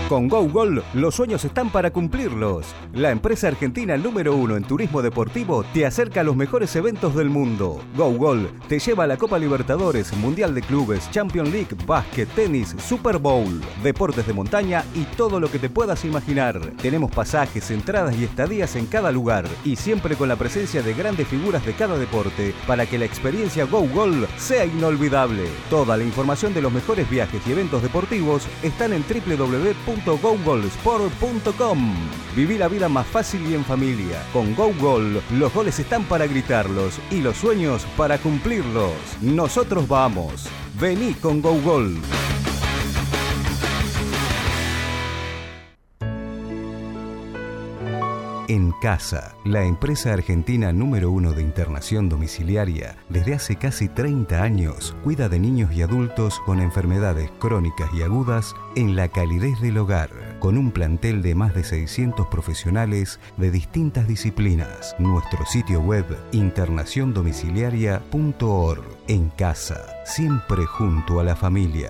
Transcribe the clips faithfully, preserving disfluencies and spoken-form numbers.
Con GoGol, los sueños están para cumplirlos. La empresa argentina número uno en turismo deportivo te acerca a los mejores eventos del mundo. GoGol te lleva a la Copa Libertadores, Mundial de Clubes, Champions League, básquet, tenis, Super Bowl, deportes de montaña y todo lo que te puedas imaginar. Tenemos pasajes, entradas y estadías en cada lugar y siempre con la presencia de grandes figuras de cada deporte para que la experiencia GoGol sea inolvidable. Toda la información de los mejores viajes y eventos deportivos están en doble u doble u doble u punto go gol sport punto com. Viví la vida más fácil y en familia. Con GoGol, los goles están para gritarlos y los sueños para cumplirlos. Nosotros vamos. Vení con GoGol. En Casa, la empresa argentina número uno de internación domiciliaria, desde hace casi treinta años, cuida de niños y adultos con enfermedades crónicas y agudas en la calidez del hogar, con un plantel de más de seiscientos profesionales de distintas disciplinas. Nuestro sitio web, internación domiciliaria punto org. En Casa, siempre junto a la familia.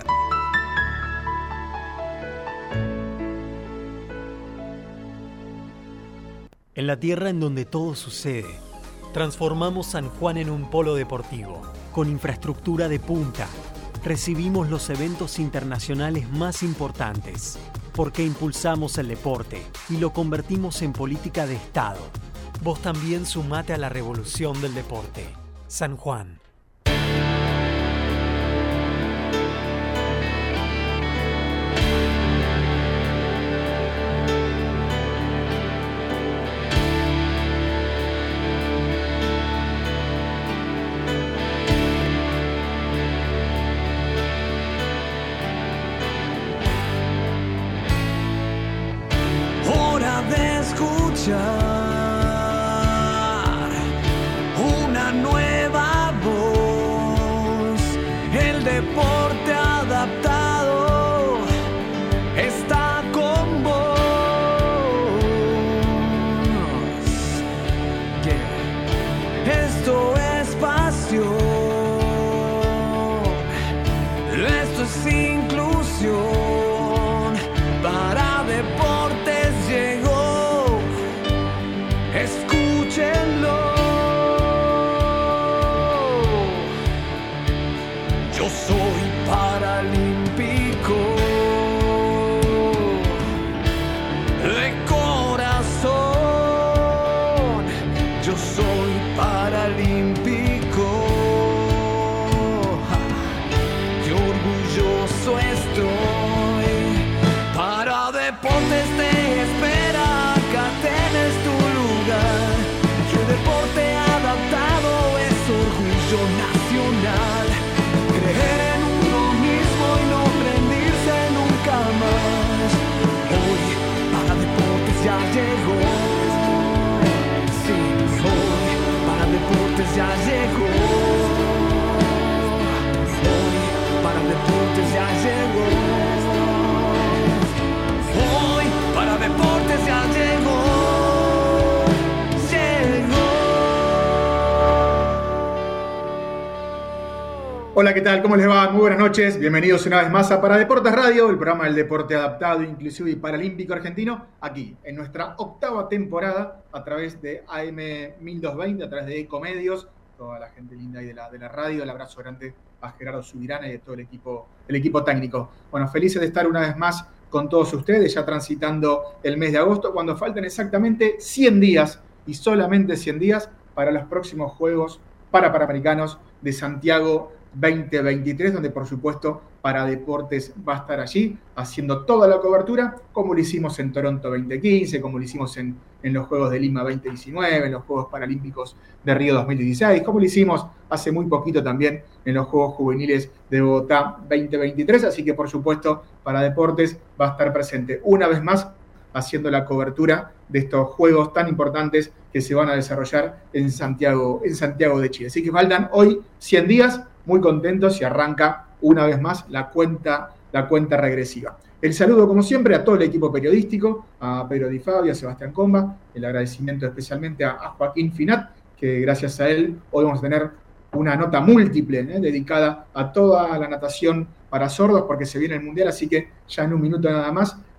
En la tierra en donde todo sucede, transformamos San Juan en un polo deportivo, con infraestructura de punta. Recibimos los eventos internacionales más importantes, porque impulsamos el deporte y lo convertimos en política de Estado. Vos también sumate a la revolución del deporte. San Juan. Una nueva voz, el deporte adaptado está con vos. Yeah. Esto es pasión, esto es inclusión, para deportes llegó. Escúchenlo. Yo soy paralímpico de corazón. Yo soy paralímpico. Qué orgulloso estoy. Para deportes te espera, acá tenés tu lugar. Que el deporte adaptado es orgullo nacional. Creer en uno mismo y no rendirse nunca más. Hoy para deportes ya llegó. Sí, hoy para deportes ya llegó. Hoy para deportes ya llegó. Hoy para deportes ya llegó. Hola, ¿qué tal? ¿Cómo les va? Muy buenas noches. Bienvenidos una vez más a Para Deportes Radio, el programa del deporte adaptado, inclusivo y paralímpico argentino, aquí, en nuestra octava temporada, a través de A M mil doscientos veinte, a través de Ecomedios, toda la gente linda ahí de la, de la radio. El abrazo grande a Gerardo Subirana y de todo el equipo, el equipo técnico. Bueno, felices de estar una vez más con todos ustedes, ya transitando el mes de agosto, cuando faltan exactamente cien días, y solamente cien días, para los próximos Juegos Parapanamericanos de Santiago veinte veintitrés, donde por supuesto Para Deportes va a estar allí haciendo toda la cobertura, como lo hicimos en Toronto veinte quince, como lo hicimos en, en los Juegos de Lima veinte diecinueve, en los Juegos Paralímpicos de Río dos mil dieciséis, como lo hicimos hace muy poquito también en los Juegos Juveniles de Bogotá veinte veintitrés, así que por supuesto Para Deportes va a estar presente una vez más haciendo la cobertura de estos juegos tan importantes que se van a desarrollar en Santiago, en Santiago de Chile. Así que faltan hoy cien días, muy contentos, y arranca una vez más la cuenta, la cuenta regresiva. El saludo, como siempre, a todo el equipo periodístico, a Pedro Di Fabio, a Sebastián Comba, el agradecimiento especialmente a, a Joaquín Finat, que gracias a él hoy vamos a tener una nota múltiple, ¿eh? dedicada a toda la natación para sordos, porque se viene el Mundial, así que ya en un minuto nada más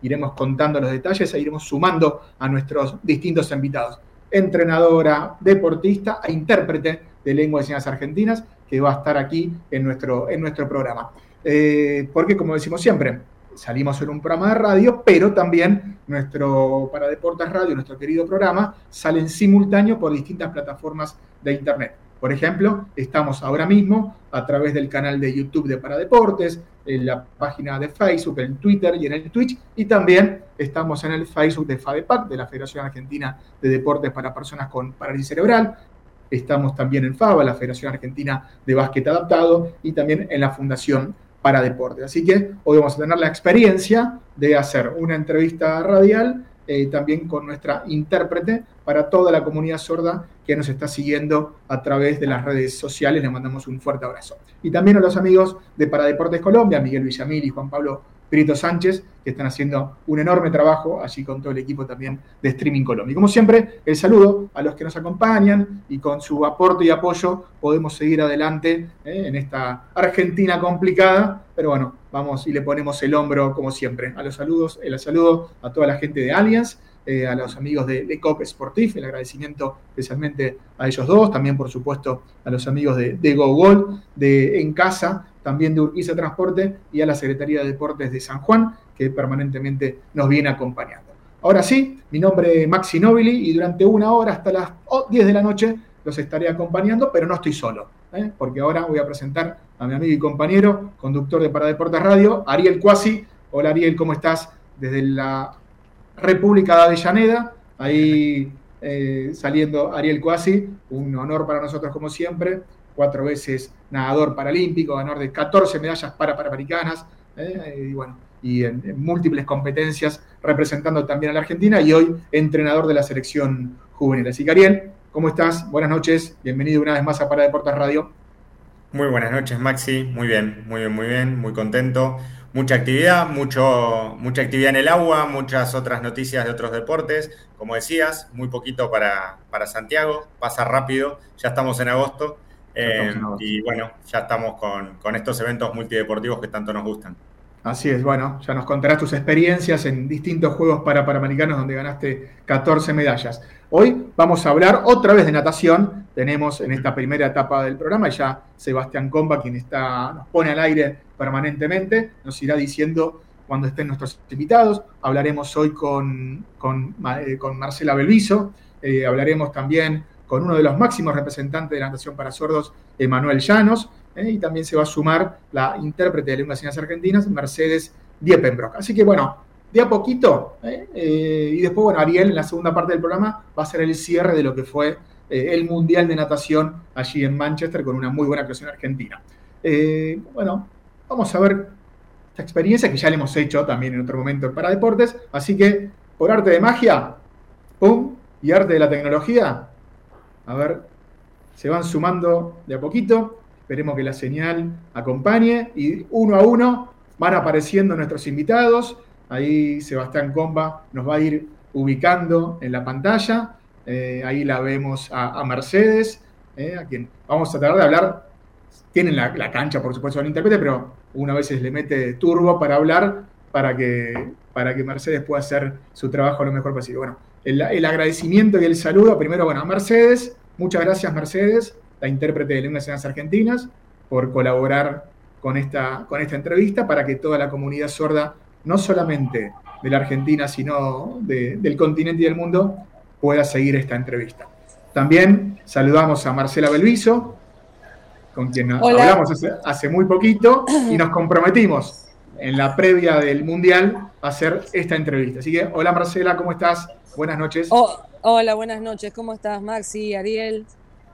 iremos contando los detalles e iremos sumando a nuestros distintos invitados. Entrenadora, deportista e intérprete de lengua de señas argentinas, que va a estar aquí en nuestro, en nuestro programa. Eh, porque, como decimos siempre, salimos en un programa de radio, pero también nuestro Para Deportes Radio, nuestro querido programa, sale en simultáneo por distintas plataformas de Internet. Por ejemplo, estamos ahora mismo a través del canal de YouTube de Para Deportes, en la página de Facebook, en Twitter y en el Twitch, y también estamos en el Facebook de FADEPAC, de la Federación Argentina de Deportes para Personas con Parálisis Cerebral. Estamos también en FABA, la Federación Argentina de Básquet Adaptado, y también en la Fundación Para Deportes. Así que hoy vamos a tener la experiencia de hacer una entrevista radial eh, también con nuestra intérprete para toda la comunidad sorda que nos está siguiendo a través de las redes sociales. Le mandamos un fuerte abrazo. Y también a los amigos de Para Deportes Colombia, Miguel Villamil y Juan Pablo Prieto Sánchez, que están haciendo un enorme trabajo allí con todo el equipo también de Streaming Colombia. Y como siempre, el saludo a los que nos acompañan y con su aporte y apoyo podemos seguir adelante eh, en esta Argentina complicada, pero bueno, vamos y le ponemos el hombro como siempre. A los saludos, el saludo a toda la gente de Allianz, eh, a los amigos de, de Cop Sportif, el agradecimiento especialmente a ellos dos, también por supuesto a los amigos de, de GoGol, de En Casa, también de Urquiza Transporte y a la Secretaría de Deportes de San Juan, que permanentemente nos viene acompañando. Ahora sí, mi nombre es Maxi Nobili y durante una hora hasta las diez de la noche los estaré acompañando, pero no estoy solo, ¿eh? Porque ahora voy a presentar a mi amigo y compañero, conductor de Para Deportes Radio, Ariel Cuasi. Hola Ariel, ¿cómo estás? Desde la República de Avellaneda, ahí eh, saliendo Ariel Cuasi, un honor para nosotros como siempre. Cuatro veces nadador paralímpico, ganador de catorce medallas para panamericanas, eh, y bueno, y en, en múltiples competencias representando también a la Argentina, y hoy entrenador de la selección juvenil. Así que Ariel, ¿cómo estás? Buenas noches, bienvenido una vez más a Para Deportes Radio. Muy buenas noches, Maxi, muy bien, muy bien, muy bien, muy contento. Mucha actividad, mucho, mucha actividad en el agua, muchas otras noticias de otros deportes. Como decías, muy poquito para, para Santiago, pasa rápido, ya estamos en agosto. Eh, y bueno, ya estamos con, con estos eventos multideportivos que tanto nos gustan. Así es, bueno, ya nos contarás tus experiencias en distintos Juegos para Panamericanos donde ganaste catorce medallas. Hoy vamos a hablar otra vez de natación. Tenemos en esta primera etapa del programa ya Sebastián Comba, quien está, nos pone al aire permanentemente, nos irá diciendo cuando estén nuestros invitados. Hablaremos hoy con, con, eh, con Marcela Belviso, eh, hablaremos también con uno de los máximos representantes de la natación para sordos, Emanuel Llanos, eh, y también se va a sumar la intérprete de lengua de señas argentinas, Mercedes Diepenbrock. Así que bueno, de a poquito, eh, eh, y después, bueno, Ariel, en la segunda parte del programa, va a ser el cierre de lo que fue eh, el Mundial de Natación allí en Manchester, con una muy buena actuación argentina. Eh, bueno, vamos a ver esta experiencia que ya la hemos hecho también en otro momento en Para Deportes, así que, por arte de magia, pum, y arte de la tecnología, a ver, se van sumando de a poquito. Esperemos que la señal acompañe. Y uno a uno van apareciendo nuestros invitados. Ahí Sebastián Comba nos va a ir ubicando en la pantalla. Eh, ahí la vemos a, a Mercedes, eh, a quien vamos a tratar de hablar. Tienen la, la cancha, por supuesto, del intérprete, pero una vez le mete turbo para hablar, para que, para que Mercedes pueda hacer su trabajo lo mejor posible. Bueno, El, el agradecimiento y el saludo, primero, bueno, a Mercedes. Muchas gracias, Mercedes, la intérprete de lengua de señas argentinas, por colaborar con esta, con esta entrevista para que toda la comunidad sorda, no solamente de la Argentina, sino de, del continente y del mundo, pueda seguir esta entrevista. También saludamos a Marcela Belviso, con quien Hola. hablamos hace, hace muy poquito, y nos comprometimos en la previa del Mundial a hacer esta entrevista. Así que, hola Marcela, ¿cómo estás? Buenas noches. Oh, hola, buenas noches. ¿Cómo estás, Maxi, Ariel?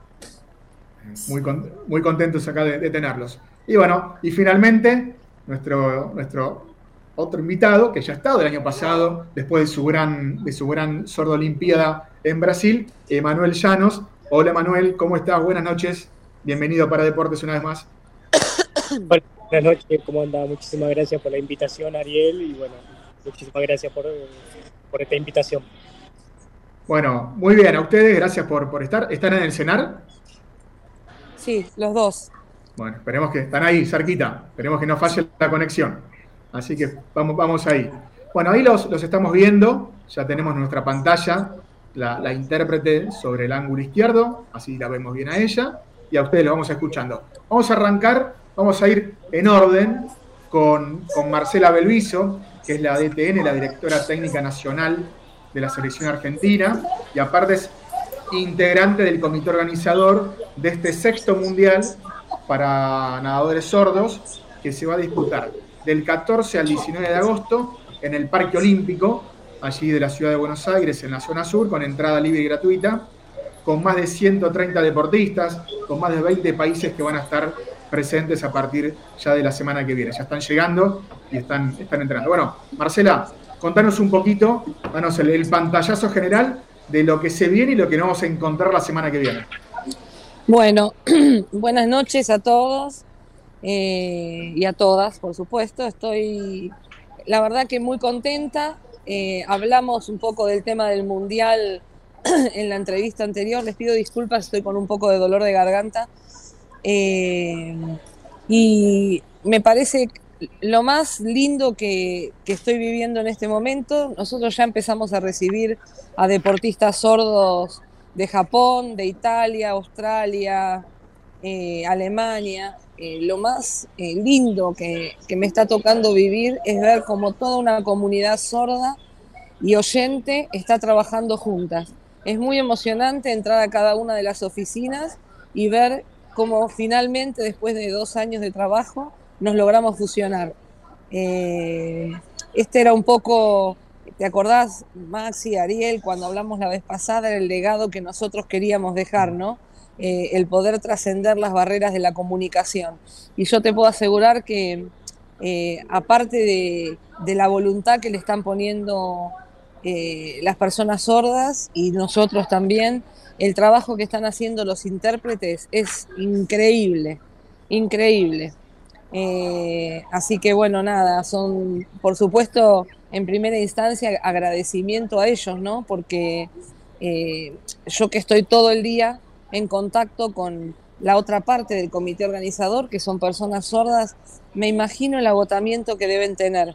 Muy, con, muy contentos acá de, de tenerlos. Y bueno, y finalmente, nuestro, nuestro otro invitado, que ya ha estado el año pasado, después de su gran, de su gran sordo olimpiada en Brasil, Emanuel Llanos. Hola, Emanuel, ¿cómo estás? Buenas noches. Bienvenido a Para Deportes una vez más. Buenas noches, ¿cómo anda? Muchísimas gracias por la invitación, Ariel, y bueno, muchísimas gracias por, por esta invitación. Bueno, muy bien, a ustedes, gracias por, por estar. ¿Están en el cenar? Sí, los dos. Bueno, esperemos que están ahí, cerquita. Esperemos que no falle la conexión. Así que vamos, vamos ahí. Bueno, ahí los, los estamos viendo, ya tenemos en nuestra pantalla la, la intérprete sobre el ángulo izquierdo, así la vemos bien a ella, y a ustedes lo vamos escuchando. Vamos a arrancar, vamos a ir en orden con, con Marcela Belviso, que es la D T N, la Directora Técnica Nacional de la Selección Argentina, y aparte es integrante del comité organizador de este sexto mundial para nadadores sordos, que se va a disputar del catorce al diecinueve de agosto en el Parque Olímpico, allí de la ciudad de Buenos Aires, en la zona sur, con entrada libre y gratuita, con más de ciento treinta deportistas, con más de veinte países que van a estar presentes a partir ya de la semana que viene. Ya están llegando y están, están entrando. Bueno, Marcela, contanos un poquito, danos el, el pantallazo general de lo que se viene y lo que nos vamos a encontrar la semana que viene. Bueno, buenas noches a todos eh, y a todas, por supuesto. Estoy, la verdad que muy contenta. Eh, hablamos un poco del tema del Mundial en la entrevista anterior. Les pido disculpas, estoy con un poco de dolor de garganta. Eh, y me parece lo más lindo que, que estoy viviendo en este momento. Nosotros ya empezamos a recibir a deportistas sordos de Japón, de Italia, Australia, eh, Alemania. Eh, lo más eh, lindo que, que me está tocando vivir es ver cómo toda una comunidad sorda y oyente está trabajando juntas. Es muy emocionante entrar a cada una de las oficinas y ver cómo finalmente, después de dos años de trabajo, nos logramos fusionar. Eh, este era un poco, ¿te acordás, Maxi, Ariel, cuando hablamos la vez pasada, era el legado que nosotros queríamos dejar, ¿no? Eh, el poder trascender las barreras de la comunicación. Y yo te puedo asegurar que, eh, aparte de, de la voluntad que le están poniendo eh, las personas sordas y nosotros también, el trabajo que están haciendo los intérpretes es increíble, increíble. Eh, así que bueno, nada, son, por supuesto, en primera instancia agradecimiento a ellos, ¿no? Porque eh, yo que estoy todo el día en contacto con la otra parte del comité organizador, que son personas sordas, me imagino el agotamiento que deben tener,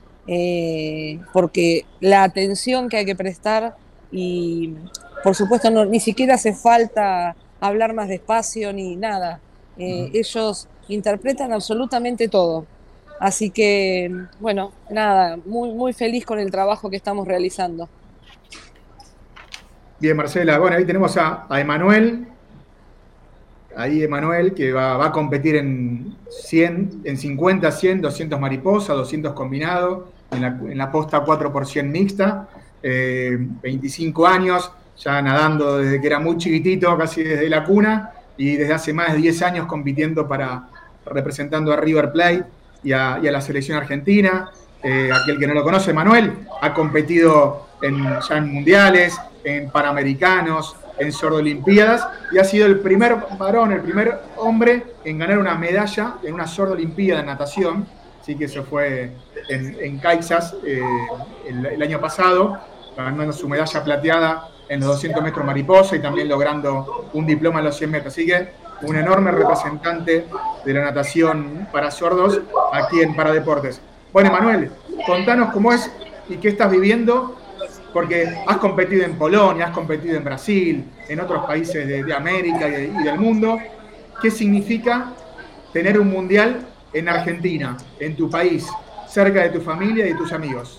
eh, porque la atención que hay que prestar y, por supuesto, no, ni siquiera hace falta hablar más despacio ni nada. Eh, uh-huh. Ellos interpretan absolutamente todo. Así que, bueno, nada, muy, muy feliz con el trabajo que estamos realizando. Bien, Marcela. Bueno, ahí tenemos a, a Emanuel. Ahí Emanuel, que va, va a competir en cien, en cincuenta, cien, doscientos mariposa, doscientos combinado, en la, en la posta cuatro por cien mixta, eh, veinticinco años, ya nadando desde que era muy chiquitito, casi desde la cuna, y desde hace más de diez años compitiendo para, representando a River Plate y a, y a la selección argentina. Eh, aquel que no lo conoce, Emanuel, ha competido en, ya en mundiales, en panamericanos, en sordo-olimpiadas, y ha sido el primer varón, el primer hombre en ganar una medalla en una sordo-olimpiada en natación. Así que eso fue en, en Kansas eh, el, el año pasado, ganando su medalla plateada en los doscientos metros mariposa y también logrando un diploma en los cien metros. Así que un enorme representante de la natación para sordos aquí en Paradeportes. Bueno, Emanuel, contanos cómo es y qué estás viviendo, porque has competido en Polonia, has competido en Brasil, en otros países de, de América y, de, y del mundo. ¿Qué significa tener un mundial en Argentina, en tu país, cerca de tu familia y de tus amigos?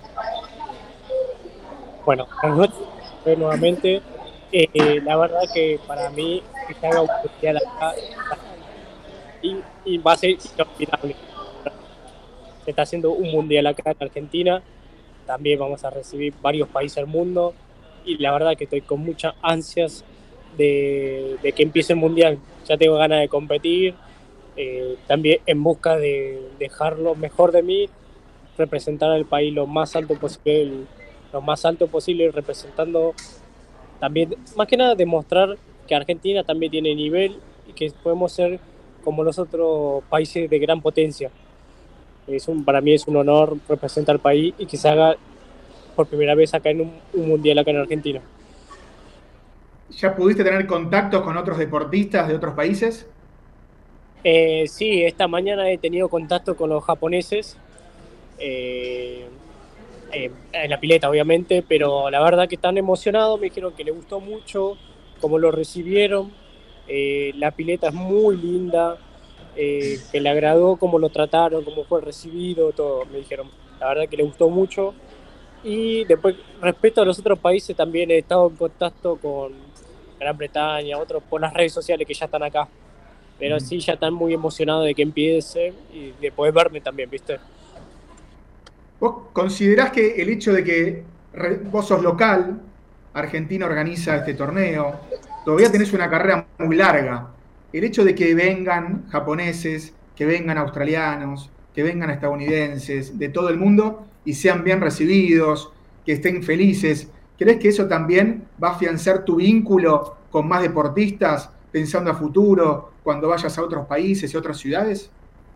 Bueno, nuevamente, eh, la verdad que para mí que se haga un mundial acá y, y va a ser inolvidable. Se está haciendo un mundial acá en Argentina, también vamos a recibir varios países del mundo y la verdad que estoy con muchas ansias de, de que empiece el mundial. Ya tengo ganas de competir, eh, también en busca de dejar lo mejor de mí, representar al país lo más alto posible, lo más alto posible, representando también, más que nada, demostrar que Argentina también tiene nivel y que podemos ser como los otros países de gran potencia. Es un, para mí es un honor representar al país y que se haga por primera vez acá en un, un mundial acá en Argentina. ¿Ya pudiste tener contactos con otros deportistas de otros países? Eh, sí, esta mañana he tenido contacto con los japoneses. Eh, eh, en la pileta obviamente, pero la verdad que están emocionados, me dijeron que les gustó mucho cómo lo recibieron, eh, la pileta es muy linda, eh, que le agradó cómo lo trataron, cómo fue recibido, todo, me dijeron, la verdad que les gustó mucho. Y después, respecto a los otros países, también he estado en contacto con Gran Bretaña, otros por las redes sociales que ya están acá. Pero sí, ya están muy emocionados de que empiece y de poder verme también, ¿viste? ¿Vos considerás que el hecho de que re- vos sos local, Argentina organiza este torneo, todavía tenés una carrera muy larga, el hecho de que vengan japoneses, que vengan australianos, que vengan estadounidenses, de todo el mundo y sean bien recibidos, que estén felices, ¿crees que eso también va a afianzar tu vínculo con más deportistas pensando a futuro cuando vayas a otros países y otras ciudades?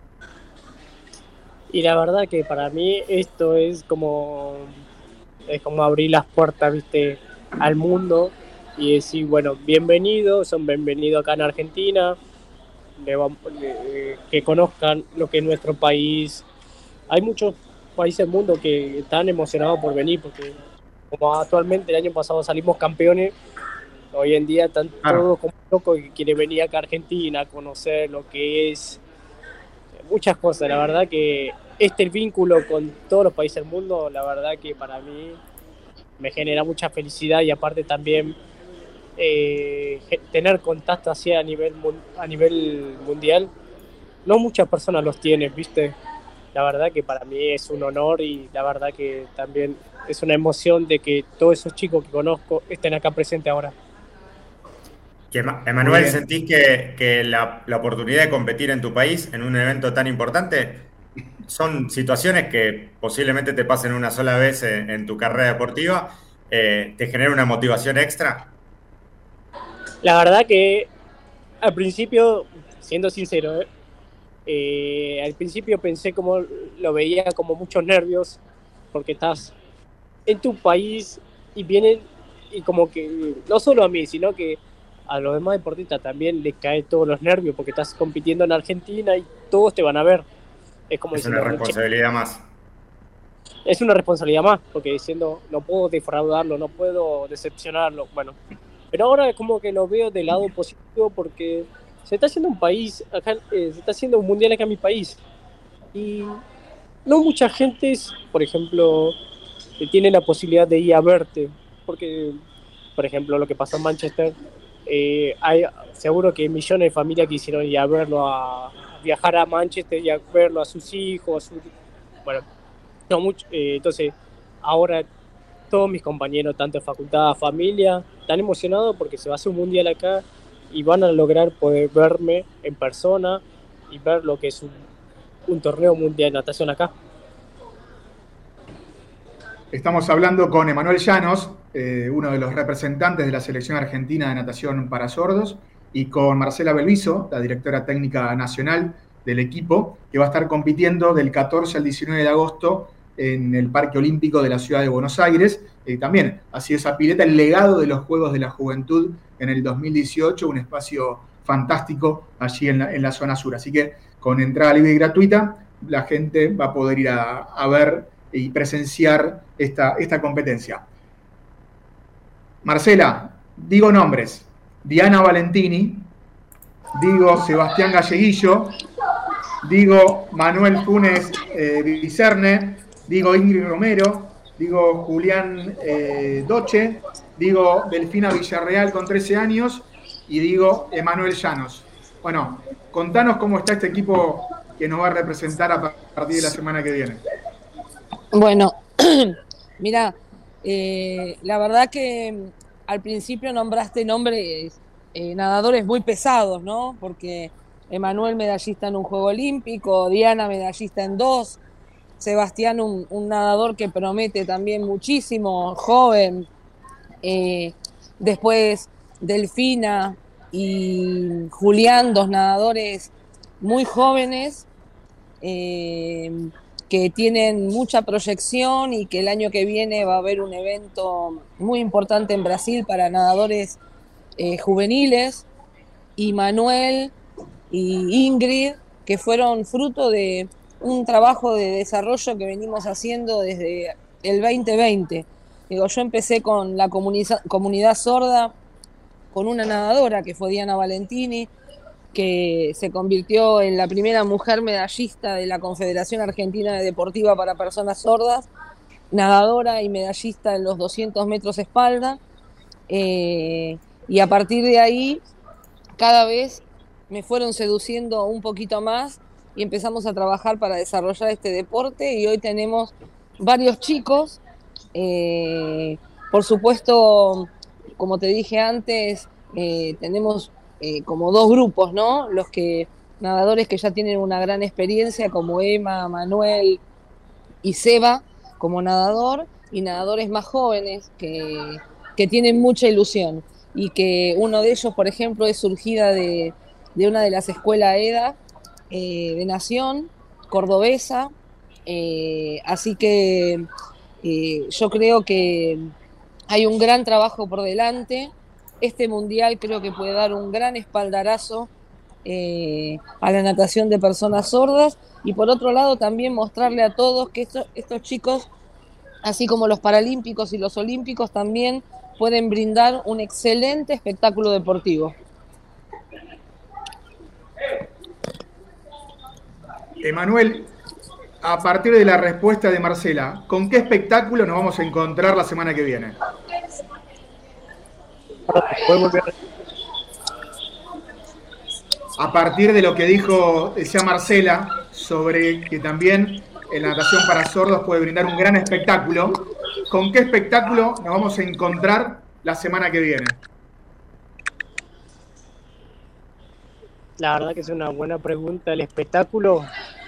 Y la verdad que para mí esto es como, es como abrir las puertas, ¿viste? Al mundo y decir, bueno, bienvenidos, son bienvenidos acá en Argentina, le vamos- le- que conozcan lo que es nuestro país. Hay muchos países del mundo que están emocionados por venir, porque como actualmente el año pasado salimos campeones, hoy en día están Claro. todos como locos que quieren venir acá a Argentina a conocer lo que es muchas cosas. La verdad que este vínculo con todos los países del mundo, la verdad que para mí me genera mucha felicidad y aparte también eh, ge- tener contacto así a nivel, mun- a nivel mundial, no muchas personas los tienen, ¿viste? La verdad que para mí es un honor y la verdad que también es una emoción de que todos esos chicos que conozco estén acá presentes ahora. Que, Ema- Muy Emanuel, bien. ¿sentís que, que la, la oportunidad de competir en tu país en un evento tan importante son situaciones que posiblemente te pasen una sola vez en, en tu carrera deportiva? Eh, ¿te genera una motivación extra? La verdad que al principio, siendo sincero, ¿eh? Eh, al principio pensé como lo veía como muchos nervios porque estás en tu país y vienen y como que no solo a mí sino que a los demás deportistas también les cae todos los nervios porque estás compitiendo en Argentina y todos te van a ver, es como Es una diciendo, "Che, responsabilidad más. es una responsabilidad más", porque diciendo no puedo defraudarlo, no puedo decepcionarlo, bueno, pero ahora es como que lo veo del lado positivo porque se está haciendo un país acá, eh, se está haciendo un mundial acá en mi país y no mucha gente, es, por ejemplo, que tiene la posibilidad de ir a verte, porque, por ejemplo, lo que pasó en Manchester, eh, hay seguro que millones de familias quisieron ir a verlo, a, a viajar a Manchester y a verlo a sus hijos, a su, bueno, no mucho, eh, entonces ahora todos mis compañeros, tanto de facultad, familia, están emocionados porque se va a hacer un mundial acá y van a lograr poder verme en persona y ver lo que es un, un torneo mundial de natación acá. Estamos hablando con Emanuel Llanos, eh, uno de los representantes de la selección argentina de natación para sordos, y con Marcela Belviso, la directora técnica nacional del equipo, que va a estar compitiendo del catorce al diecinueve de agosto en el Parque Olímpico de la Ciudad de Buenos Aires. Eh, también ha sido esa pileta el legado de los Juegos de la Juventud en el dos mil dieciocho, un espacio fantástico allí en la, en la zona sur. Así que con entrada libre y gratuita, la gente va a poder ir a, a ver y presenciar esta, esta competencia. Marcela, digo nombres: Diana Valentini, digo Sebastián Galleguillo, digo Manuel Funes eh, Vicerne, digo Ingrid Romero, digo Julián eh, Doche, digo Delfina Villarreal con trece años y digo Emanuel Llanos. Bueno, contanos cómo está este equipo que nos va a representar a partir de la semana que viene. Bueno, mira, eh, la verdad que mm, al principio nombraste nombres, eh, nadadores muy pesados, ¿no? Porque Emanuel medallista en un juego olímpico, Diana medallista en dos, Sebastián un, un nadador que promete también muchísimo, joven, eh, después Delfina y Julián, dos nadadores muy jóvenes, eh, que tienen mucha proyección y que el año que viene va a haber un evento muy importante en Brasil para nadadores eh, juveniles, y Manuel y Ingrid, que fueron fruto de un trabajo de desarrollo que venimos haciendo desde el veinte veinte. Digo, yo empecé con la comunidad, comunidad sorda, con una nadadora que fue Diana Valentini, que se convirtió en la primera mujer medallista de la Confederación Argentina de Deportiva para Personas Sordas, nadadora y medallista en los doscientos metros espalda, eh, y a partir de ahí cada vez me fueron seduciendo un poquito más y empezamos a trabajar para desarrollar este deporte, y hoy tenemos varios chicos, eh, por supuesto, como te dije antes, eh, tenemos eh, como dos grupos, ¿no? Los que nadadores que ya tienen una gran experiencia, como Emma, Manuel y Seba como nadador, y nadadores más jóvenes que, que tienen mucha ilusión, y que uno de ellos, por ejemplo, es surgida de, de una de las escuelas E D A eh, de Nación, cordobesa, eh, así que eh, yo creo que hay un gran trabajo por delante. Este mundial creo que puede dar un gran espaldarazo eh, a la natación de personas sordas, y por otro lado también mostrarle a todos que estos, estos chicos, así como los paralímpicos y los olímpicos, también pueden brindar un excelente espectáculo deportivo. Emanuel, a partir de la respuesta de Marcela, ¿con qué espectáculo nos vamos a encontrar la semana que viene? A partir de lo que dijo decía Marcela sobre que también en la natación para sordos puede brindar un gran espectáculo, ¿con qué espectáculo nos vamos a encontrar la semana que viene? La verdad que es una buena pregunta. El espectáculo,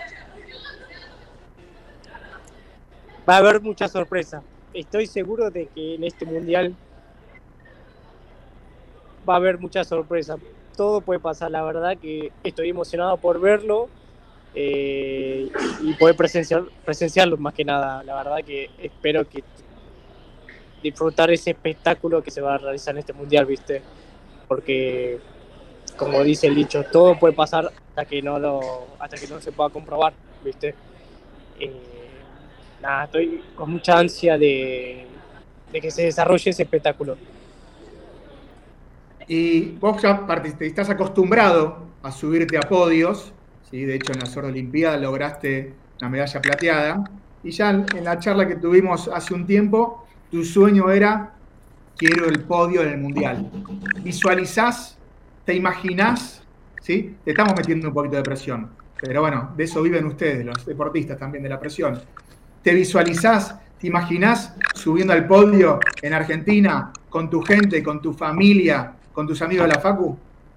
va a haber mucha sorpresa. Estoy seguro de que en este mundial va a haber mucha sorpresa. Todo puede pasar, la verdad que estoy emocionado por verlo eh, y poder presenciar, presenciarlo más que nada. La verdad que espero que disfrutar ese espectáculo que se va a realizar en este mundial, ¿viste? Porque, como dice el dicho, todo puede pasar hasta que no lo, hasta que no se pueda comprobar, ¿viste? Eh, nada, estoy con mucha ansia de, de que se desarrolle ese espectáculo. Y vos ya estás acostumbrado a subirte a podios, ¿sí? De hecho en la Sorda Olimpiada lograste la medalla plateada, y ya en la charla que tuvimos hace un tiempo, tu sueño era: quiero el podio en el Mundial. ¿Visualizás? ¿Te imaginás? ¿Sí? Te estamos metiendo un poquito de presión, pero bueno, de eso viven ustedes, los deportistas también, de la presión. ¿Te visualizás? ¿Te imaginás subiendo al podio en Argentina con tu gente, con tu familia, con tus amigos de la Facu?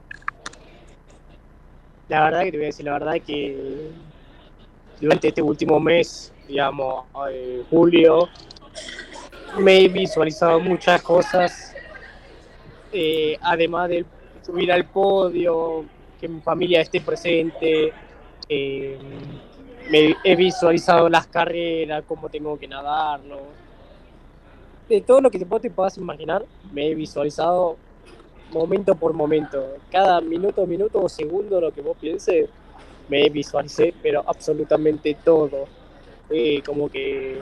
La verdad que te voy a decir, la verdad que durante este último mes, digamos, eh, julio, me he visualizado muchas cosas, eh, además de subir al podio, que mi familia esté presente, eh, me he visualizado las carreras, cómo tengo que nadarlo, de todo lo que te puedas imaginar, me he visualizado momento por momento, cada minuto, minuto o segundo, lo que vos pienses, me visualicé, pero absolutamente todo. Eh, como que,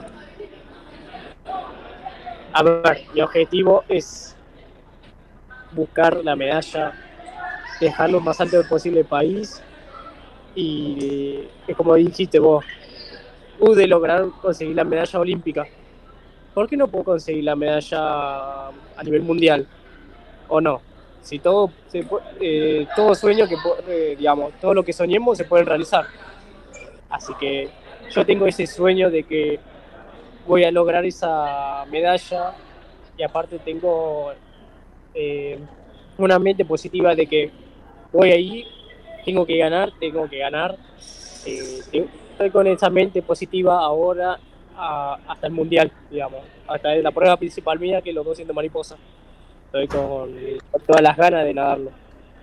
a ver, mi objetivo es buscar la medalla, dejar lo más alto posible el país, y eh, como dijiste vos, pude lograr conseguir la medalla olímpica. ¿Por qué no puedo conseguir la medalla a nivel mundial? ¿O no? Si todo, se, eh, todo sueño que, eh, digamos, todo lo que soñemos se puede realizar. Así que yo tengo ese sueño de que voy a lograr esa medalla, y aparte tengo eh, una mente positiva de que voy ahí, tengo que ganar, tengo que ganar. Eh, estoy con esa mente positiva ahora a, hasta el mundial, digamos, hasta la prueba principal mía, que es los doscientos mariposa. Estoy con, con todas las ganas de nadarlo.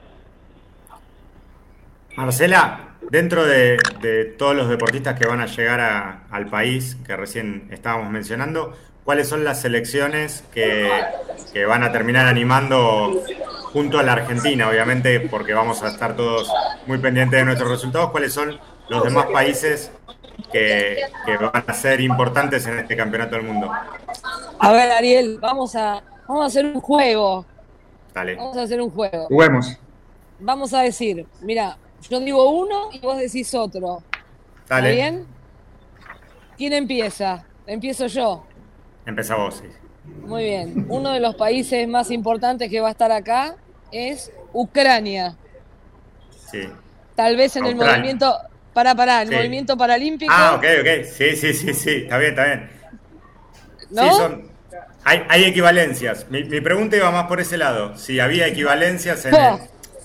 Marcela, dentro de, de todos los deportistas que van a llegar a, al país, que recién estábamos mencionando, ¿cuáles son las selecciones que, que van a terminar animando junto a la Argentina? Obviamente, porque vamos a estar todos muy pendientes de nuestros resultados. ¿Cuáles son los demás países que, que van a ser importantes en este campeonato del mundo? A ver, Ariel, vamos a, vamos a hacer un juego. Dale. Vamos a hacer un juego. Juguemos. Vamos a decir, mira, yo digo uno y vos decís otro. Dale. ¿Está bien? ¿Quién empieza? Empiezo yo. Empezá vos, sí. Muy bien. Uno de los países más importantes que va a estar acá es Ucrania. Sí. Tal vez en Australia. el movimiento... Pará, pará, el Sí. movimiento paralímpico. Ah, ok, ok. Sí, sí, sí, sí. Está bien, está bien. ¿No? Sí, son, hay, hay equivalencias. Mi, mi pregunta iba más por ese lado. Si había equivalencias en el,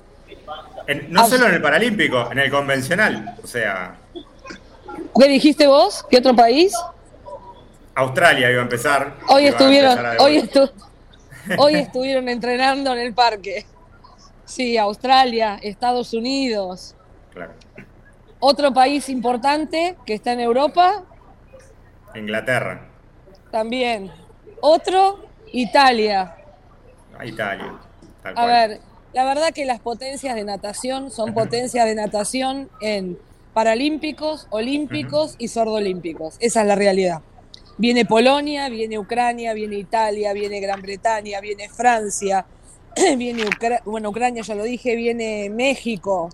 en- no solo en el paralímpico, en el convencional. O sea, ¿Qué dijiste vos? ¿Qué otro país? Australia iba a empezar. Hoy iba a estuvieron, empezar a hoy, devolver. estu- hoy estuvieron entrenando en el parque. Sí, Australia, Estados Unidos. Claro. Otro país importante que está en Europa, Inglaterra. también. Otro, Italia. A Italia. Tal A cual. ver, la verdad que las potencias de natación son potencias de natación en paralímpicos, olímpicos y sordolímpicos. Esa es la realidad. Viene Polonia, viene Ucrania, viene Italia, viene Gran Bretaña, viene Francia, viene Ucra- bueno, Ucrania ya lo dije, viene México,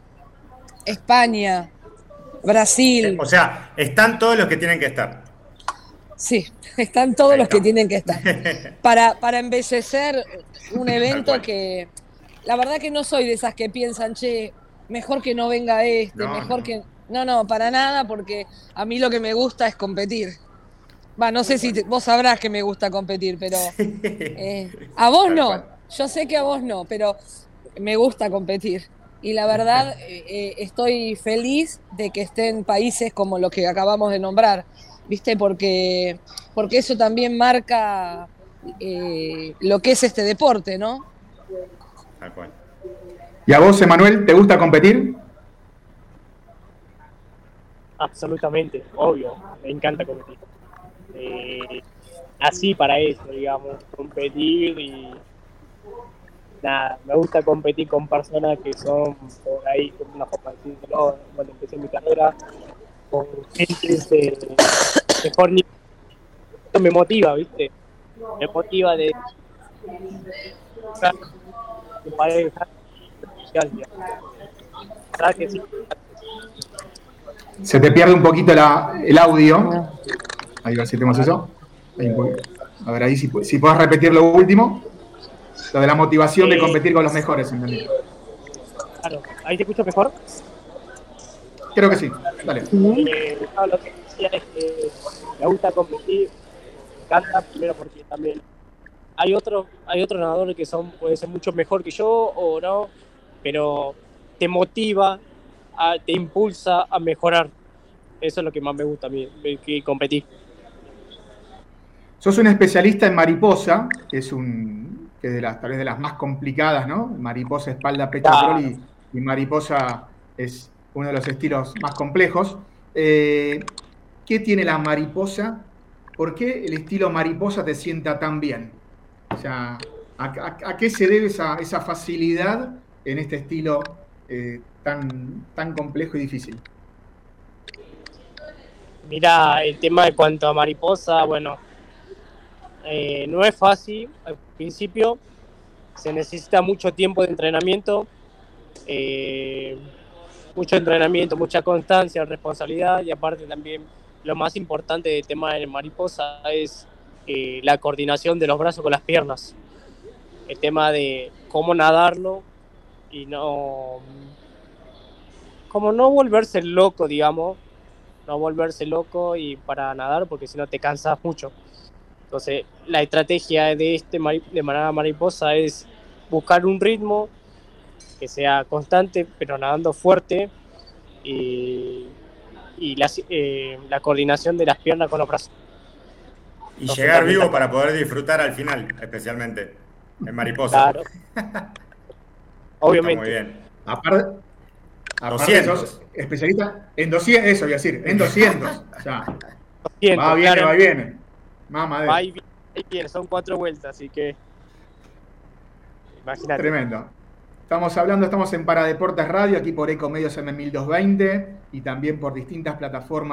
España, Brasil. O sea, están todos los que tienen que estar. Sí, están todos Ahí los que estamos. tienen que estar. Para, para embellecer un Tal evento cual. que, la verdad que no soy de esas que piensan, che, mejor que no venga este, No, mejor no. que... No, no, para nada, porque a mí lo que me gusta es competir. Va, no sé si te- vos sabrás que me gusta competir, pero eh, a vos Tal no. cual. Yo sé que a vos no, pero me gusta competir. Y la verdad, eh, eh, estoy feliz de que estén países como los que acabamos de nombrar, ¿viste? Porque, porque eso también marca eh, lo que es este deporte, ¿no? Tal cual. ¿Y a vos, Emanuel, te gusta competir? Absolutamente, obvio, me encanta competir. Eh, así para eso, digamos, competir y nada, me gusta competir con personas que son por ahí, como una forma de decirlo, cuando empecé mi carrera, con gente de mejor nivel. Esto me motiva, ¿viste? Me motiva de de pareja, ¿sabes que sí? Se te pierde un poquito la- el audio. Ahí a ver si tenemos eso. Ahí un poquito. A ver, ahí si, pu- si podés repetir lo último. Lo de la motivación de Eh, competir con los mejores, ¿entendés? Claro, ¿ahí te escucho mejor? Creo que sí. Dale. Eh, no, lo que decía es que me gusta competir, me encanta primero porque también hay otros hay otros nadadores que son puede ser mucho mejor que yo o no, pero te motiva, a- te impulsa a mejorar. Eso es lo que más me gusta a mí, ver que competir. Sos un especialista en mariposa, que es un que es de las tal vez de las más complicadas, ¿no? Mariposa, espalda, pecho, Claro. crawl y, y mariposa es uno de los estilos más complejos. Eh, ¿Qué tiene la mariposa? ¿Por qué el estilo mariposa te sienta tan bien? O sea, ¿a, a- a qué se debe esa, esa facilidad en este estilo eh, tan, tan complejo y difícil? Mira, el tema de cuanto a mariposa, bueno, eh, no es fácil al principio, se necesita mucho tiempo de entrenamiento, eh, mucho entrenamiento, mucha constancia, responsabilidad y aparte también lo más importante del tema de mariposa es eh, la coordinación de los brazos con las piernas, el tema de cómo nadarlo y no, como no volverse loco, digamos, no volverse loco y para nadar porque si no te cansas mucho. Entonces la estrategia de este mari- de manada mariposa es buscar un ritmo que sea constante pero nadando fuerte y, y la, eh, la coordinación de las piernas con los brazos. Y No, llegar totalmente. vivo para poder disfrutar al final, especialmente en mariposa. Claro. Está Obviamente. muy bien. Aparte, aparte doscientos. sos especialista en doscientos, eso voy a decir, en doscientos. O sea, Siento, va, viene, claro, va, viene. Mamá de va y viene, va y viene, son cuatro vueltas, así que imagínate. tremendo. Estamos hablando, estamos en Paradeportes Radio, aquí por Ecomedios M mil doscientos veinte y también por distintas plataformas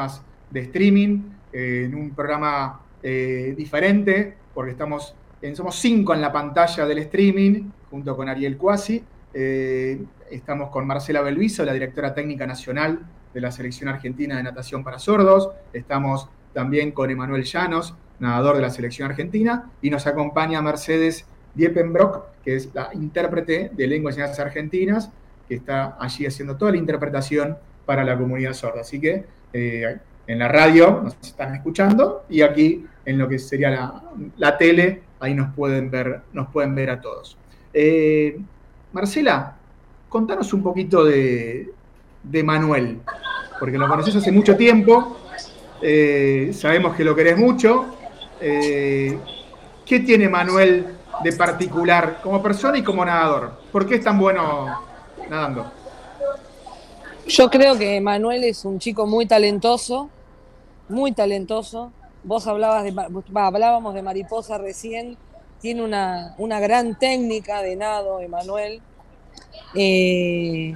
de streaming, eh, en un programa eh, diferente, porque estamos en, somos cinco en la pantalla del streaming, junto con Ariel Cuasi. Eh, estamos con Marcela Belviso, la directora técnica nacional de la Selección Argentina de Natación para Sordos. Estamos también con Emanuel Llanos, nadador de la Selección Argentina, y nos acompaña Mercedes Diepenbrock, que es la intérprete de Lengua y Señas Argentinas, que está allí haciendo toda la interpretación para la comunidad sorda. Así que eh, en la radio nos están escuchando y aquí en lo que sería la, la tele, ahí nos pueden ver, nos pueden ver a todos. Eh, Marcela, contanos un poquito de, de Manuel, porque lo conoces hace mucho tiempo, eh, sabemos que lo querés mucho. Eh, ¿Qué tiene Manuel de particular como persona y como nadador? ¿Por qué es tan bueno nadando? Yo creo que Manuel es un chico muy talentoso, muy talentoso. Vos hablabas de, hablábamos de mariposa recién, tiene una, una gran técnica de nado, Emanuel. Eh,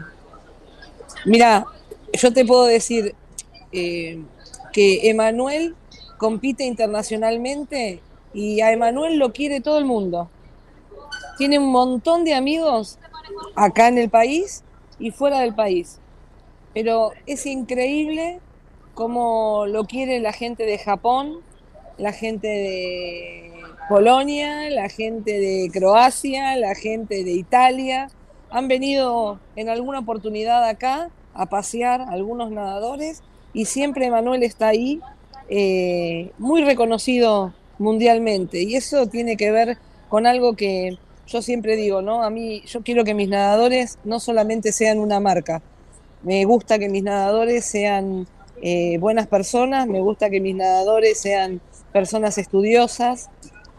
mira, yo te puedo decir eh, que Emanuel compite internacionalmente y a Emanuel lo quiere todo el mundo. Tiene un montón de amigos acá en el país y fuera del país. Pero es increíble cómo lo quiere la gente de Japón, la gente de Polonia, la gente de Croacia, la gente de Italia. Han venido en alguna oportunidad acá a pasear algunos nadadores y siempre Emanuel está ahí, eh, muy reconocido mundialmente. Y eso tiene que ver con algo que yo siempre digo, ¿no? A mí, yo quiero que mis nadadores no solamente sean una marca. Me gusta que mis nadadores sean eh, buenas personas, me gusta que mis nadadores sean personas estudiosas,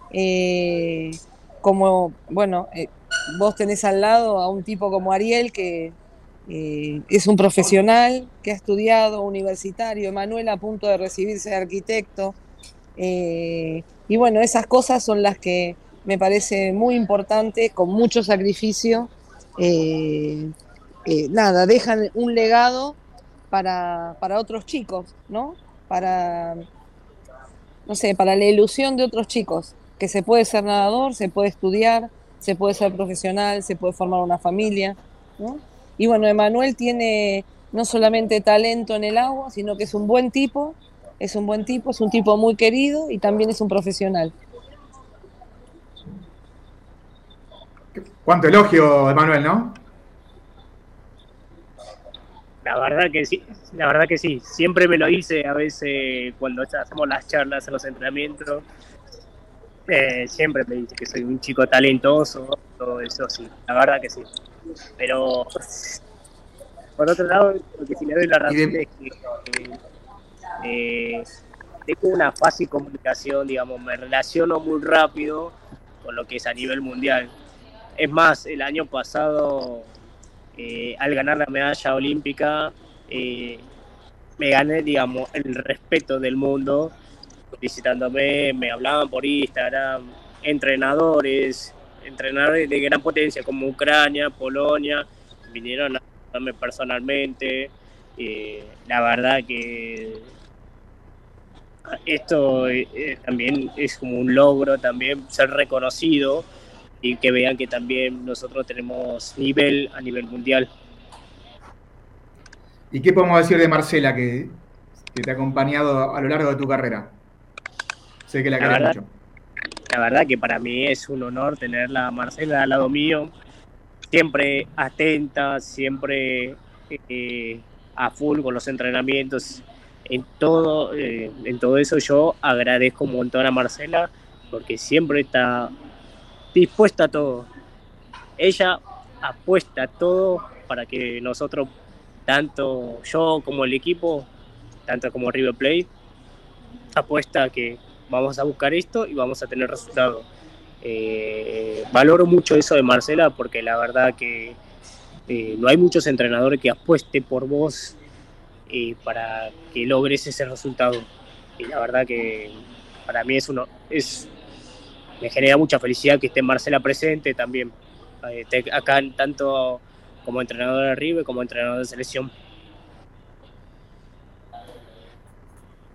eh, como, bueno, eh, vos tenés al lado a un tipo como Ariel, que eh, es un profesional, que ha estudiado, universitario, Emanuel a punto de recibirse de arquitecto, eh, y bueno, esas cosas son las que me parece muy importante, con mucho sacrificio, eh, Eh, nada, dejan un legado para, para otros chicos, ¿no? Para, no sé, para la ilusión de otros chicos, que se puede ser nadador, se puede estudiar, se puede ser profesional, se puede formar una familia, ¿no? Y bueno, Emanuel tiene no solamente talento en el agua, sino que es un buen tipo, es un buen tipo, es un tipo muy querido y también es un profesional. Cuánto elogio, Emanuel, ¿no? La verdad que sí, la verdad que sí. Siempre me lo hice a veces cuando hacemos las charlas en los entrenamientos. Eh, siempre me dice que soy un chico talentoso, todo eso sí, la verdad que sí. Pero por otro lado, lo que sí le doy la razón es que eh, tengo una fácil comunicación, digamos, me relaciono muy rápido con lo que es a nivel mundial. Es más, el año pasado, Eh, al ganar la medalla olímpica, eh, me gané, digamos, el respeto del mundo, visitándome, me hablaban por Instagram, entrenadores, entrenadores de gran potencia como Ucrania, Polonia, vinieron a verme personalmente. Eh, la verdad que esto eh, también es como un logro, también ser reconocido y que vean que también nosotros tenemos nivel a nivel mundial. ¿Y qué podemos decir de Marcela, que, que te ha acompañado a lo largo de tu carrera? Sé que la, la querés verdad, mucho. La verdad que para mí es un honor tenerla a Marcela al lado mío, siempre atenta, siempre eh, a full con los entrenamientos. En todo, eh, en todo eso yo agradezco un montón a Marcela, porque siempre está dispuesta a todo. Ella apuesta a todo para que nosotros, tanto yo como el equipo, tanto como River Plate, apuesta a que vamos a buscar esto y vamos a tener resultados. Eh, valoro mucho eso de Marcela, porque la verdad que eh, no hay muchos entrenadores que apuesten por vos eh, para que logres ese resultado. Y la verdad que para mí es uno es me genera mucha felicidad que esté Marcela presente también, eh, acá tanto como entrenador de River como entrenador de selección.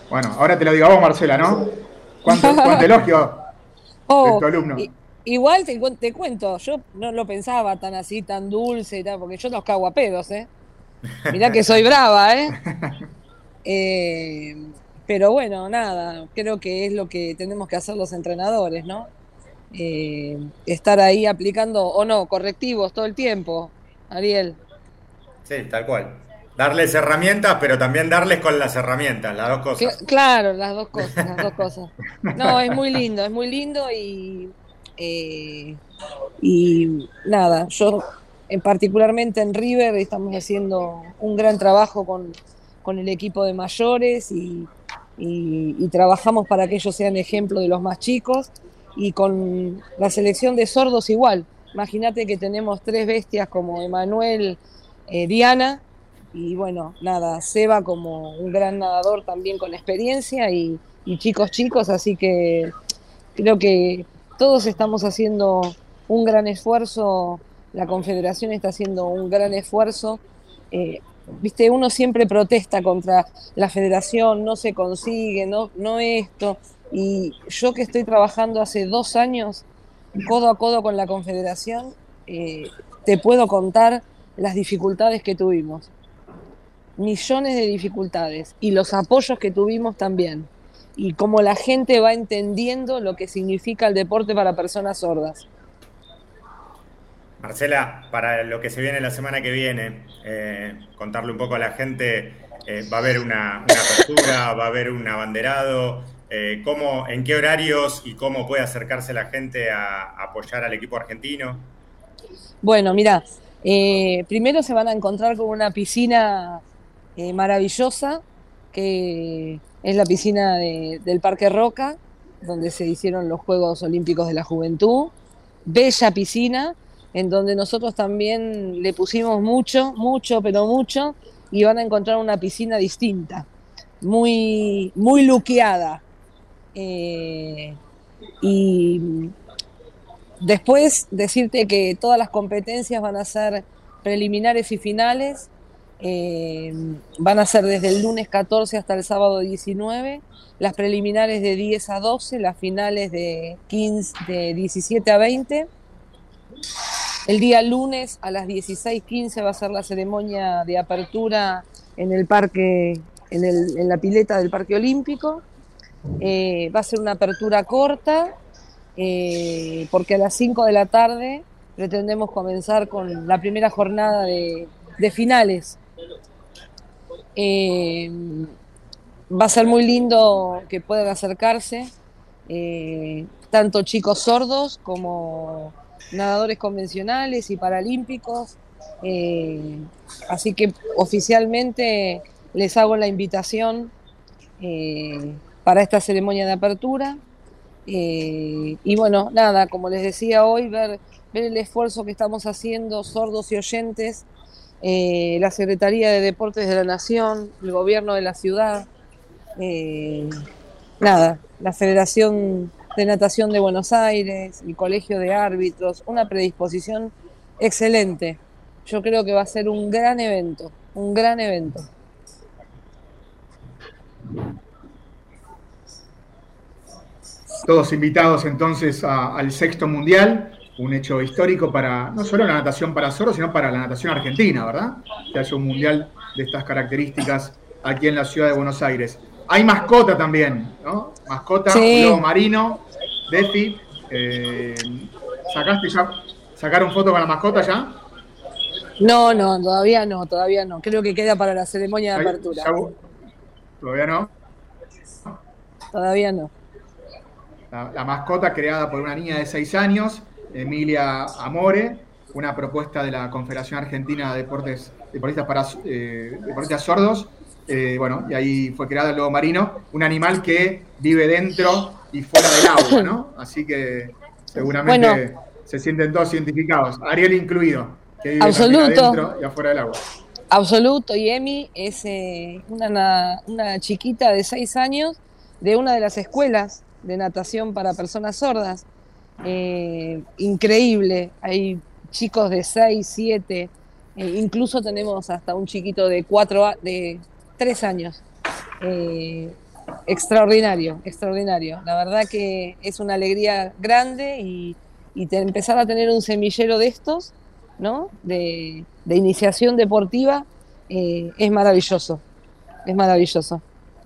Bueno, ahora te lo digo a vos, Marcela, ¿no? ¿Cuánto, cuánto elogio Oh, de tu alumno? i- igual te, cuen- te cuento, yo no lo pensaba tan así, tan dulce y tal, porque yo los cago a pedos, ¿eh? Mirá que soy brava, ¿eh? Eh, pero bueno, nada, creo que es lo que tenemos que hacer los entrenadores, ¿no? Eh, estar ahí aplicando, o no, correctivos todo el tiempo, Ariel. Sí, tal cual. Darles herramientas, pero también darles con las herramientas, las dos Cla- cosas. claro, las dos cosas, las dos cosas. No, es muy lindo, es muy lindo y, eh, y nada, yo en particularmente en River estamos haciendo un gran trabajo con, con el equipo de mayores y, y- y trabajamos para que ellos sean ejemplo de los más chicos y con la selección de sordos igual. Imagínate que tenemos tres bestias como Emanuel, eh, Diana y bueno, nada, Seba como un gran nadador también con experiencia y, y chicos chicos, así que creo que todos estamos haciendo un gran esfuerzo, la Confederación está haciendo un gran esfuerzo. Eh, Viste, uno siempre protesta contra la federación, no se consigue, no, no esto. Y yo que estoy trabajando hace dos años codo a codo con la Confederación, eh, te puedo contar las dificultades que tuvimos, millones de dificultades y los apoyos que tuvimos también y cómo la gente va entendiendo lo que significa el deporte para personas sordas. Marcela, para lo que se viene la semana que viene, eh, contarle un poco a la gente, eh, va a haber una, una apertura, va a haber un abanderado, eh, cómo, en qué horarios y cómo puede acercarse la gente a, a apoyar al equipo argentino. Bueno, mira, eh, primero se van a encontrar con una piscina eh, maravillosa, que es la piscina de- del Parque Roca, donde se hicieron los Juegos Olímpicos de la Juventud. Bella piscina, en donde nosotros también le pusimos mucho, mucho, pero mucho, y van a encontrar una piscina distinta, muy, muy luqueada. Eh, y después decirte que todas las competencias van a ser preliminares y finales, eh, van a ser desde el lunes catorce hasta el sábado diecinueve, las preliminares de diez a doce, las finales de, quince, de diecisiete a veinte. El día lunes a las dieciséis quince va a ser la ceremonia de apertura en el parque, en, el, en la pileta del Parque Olímpico. Eh, va a ser una apertura corta, eh, porque a las cinco de la tarde pretendemos comenzar con la primera jornada de, de finales. Eh, Va a ser muy lindo que puedan acercarse, eh, tanto chicos sordos como nadadores convencionales y paralímpicos. Eh, Así que oficialmente les hago la invitación eh, para esta ceremonia de apertura. Eh, y bueno, nada, como les decía hoy, ver, ver el esfuerzo que estamos haciendo, sordos y oyentes, eh, la Secretaría de Deportes de la Nación, el gobierno de la ciudad, eh, nada, la Federación de Natación de Buenos Aires, el Colegio de Árbitros, una predisposición excelente. Yo creo que va a ser un gran evento, un gran evento. Todos invitados entonces a- al sexto mundial, un hecho histórico para no solo la natación para sordos, sino para la natación argentina, ¿verdad? Que haya un mundial de estas características aquí en la ciudad de Buenos Aires. Hay mascota también, ¿no? Mascota, Sí. un lobo marino, Defi. Eh, ¿Sacaste ya? ¿Sacaron foto con la mascota ya? No, no, todavía no, todavía no. Creo que queda para la ceremonia de Ahí, apertura. ya- ¿Todavía no? Todavía no. La, la mascota creada por una niña de seis años, Emilia Amore, una propuesta de la Confederación Argentina de Deportes, Deportistas, para, eh, Deportistas Sordos. Eh, bueno, y ahí fue creado el lobo marino, un animal que vive dentro y fuera del agua, ¿no? Así que seguramente Bueno. se sienten todos identificados, Ariel incluido, que vive Absoluto. también adentro y afuera del agua. Absoluto, y Emi es eh, una, una chiquita de seis años de una de las escuelas de natación para personas sordas. Eh, increíble, hay chicos de seis, siete, eh, incluso tenemos hasta un chiquito de cuatro, de tres años. Eh, extraordinario, extraordinario. La verdad que es una alegría grande y, y te, empezar a tener un semillero de estos, ¿no? De, de iniciación deportiva, eh, es maravilloso, es maravilloso.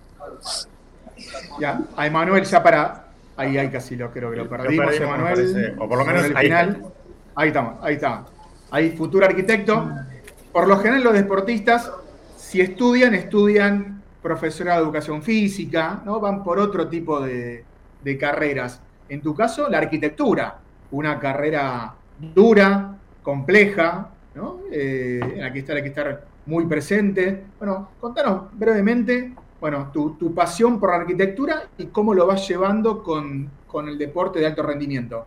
Ya, a Emanuel ya para... Ahí, ahí casi lo creo que lo perdimos, lo perdimos, Emanuel. o por lo menos el ahí final. está. Ahí estamos, ahí está. Ahí, futuro arquitecto. Por lo general los deportistas, si estudian, estudian profesorado de educación física, ¿no? Van por otro tipo de, de carreras. En tu caso, la arquitectura, una carrera dura, compleja, ¿no? Eh, en la que estar, hay que estar muy presente. Bueno, contanos brevemente, bueno, tu, tu pasión por la arquitectura y cómo lo vas llevando con, con el deporte de alto rendimiento.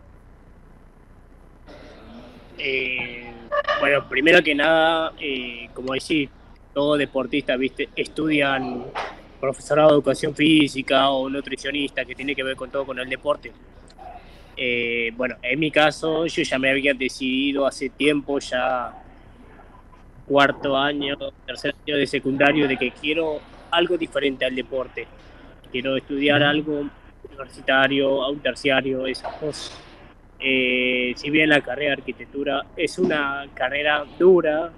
Eh, bueno, primero que nada, eh, como decís, todo deportista, ¿viste? Estudian profesorado de educación física o nutricionista que tiene que ver con todo con el deporte. Eh, bueno, en mi caso, yo ya me había decidido hace tiempo, ya cuarto año, tercer año de secundario, de que quiero algo diferente al deporte. Quiero estudiar algo universitario, a un terciario, esas cosas. Eh, si bien la carrera de arquitectura es una carrera dura,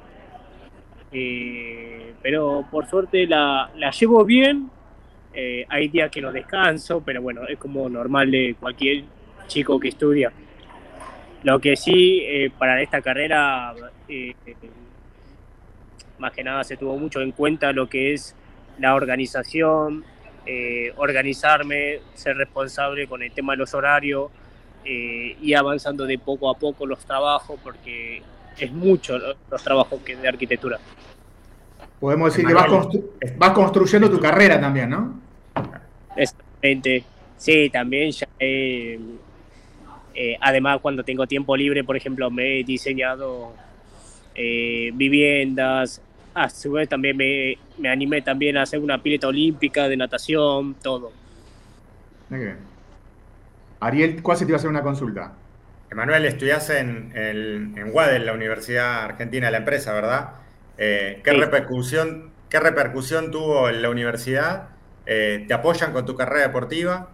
eh, pero por suerte la, la llevo bien. Eh, hay días que no descanso, pero bueno, es como normal de cualquier chico que estudia. Lo que sí, eh, para esta carrera, eh, más que nada se tuvo mucho en cuenta lo que es la organización, eh, organizarme, ser responsable con el tema de los horarios, eh, y avanzando de poco a poco los trabajos, porque es mucho los trabajos que de arquitectura. Podemos decir Emanuel, que vas, constru vas construyendo tu carrera también, ¿no? Exactamente. Sí, también ya he, eh, además cuando tengo tiempo libre, por ejemplo, me he diseñado eh, viviendas. A su vez también me, me animé también a hacer una pileta olímpica de natación, todo. Muy bien. Ariel, ¿cuál se te iba a hacer una consulta? Emanuel, estudiás en, en, en UADE, en la Universidad Argentina de la Empresa, ¿verdad? Eh, ¿qué, sí. repercusión, ¿Qué repercusión tuvo en la universidad? Eh, ¿Te apoyan con tu carrera deportiva?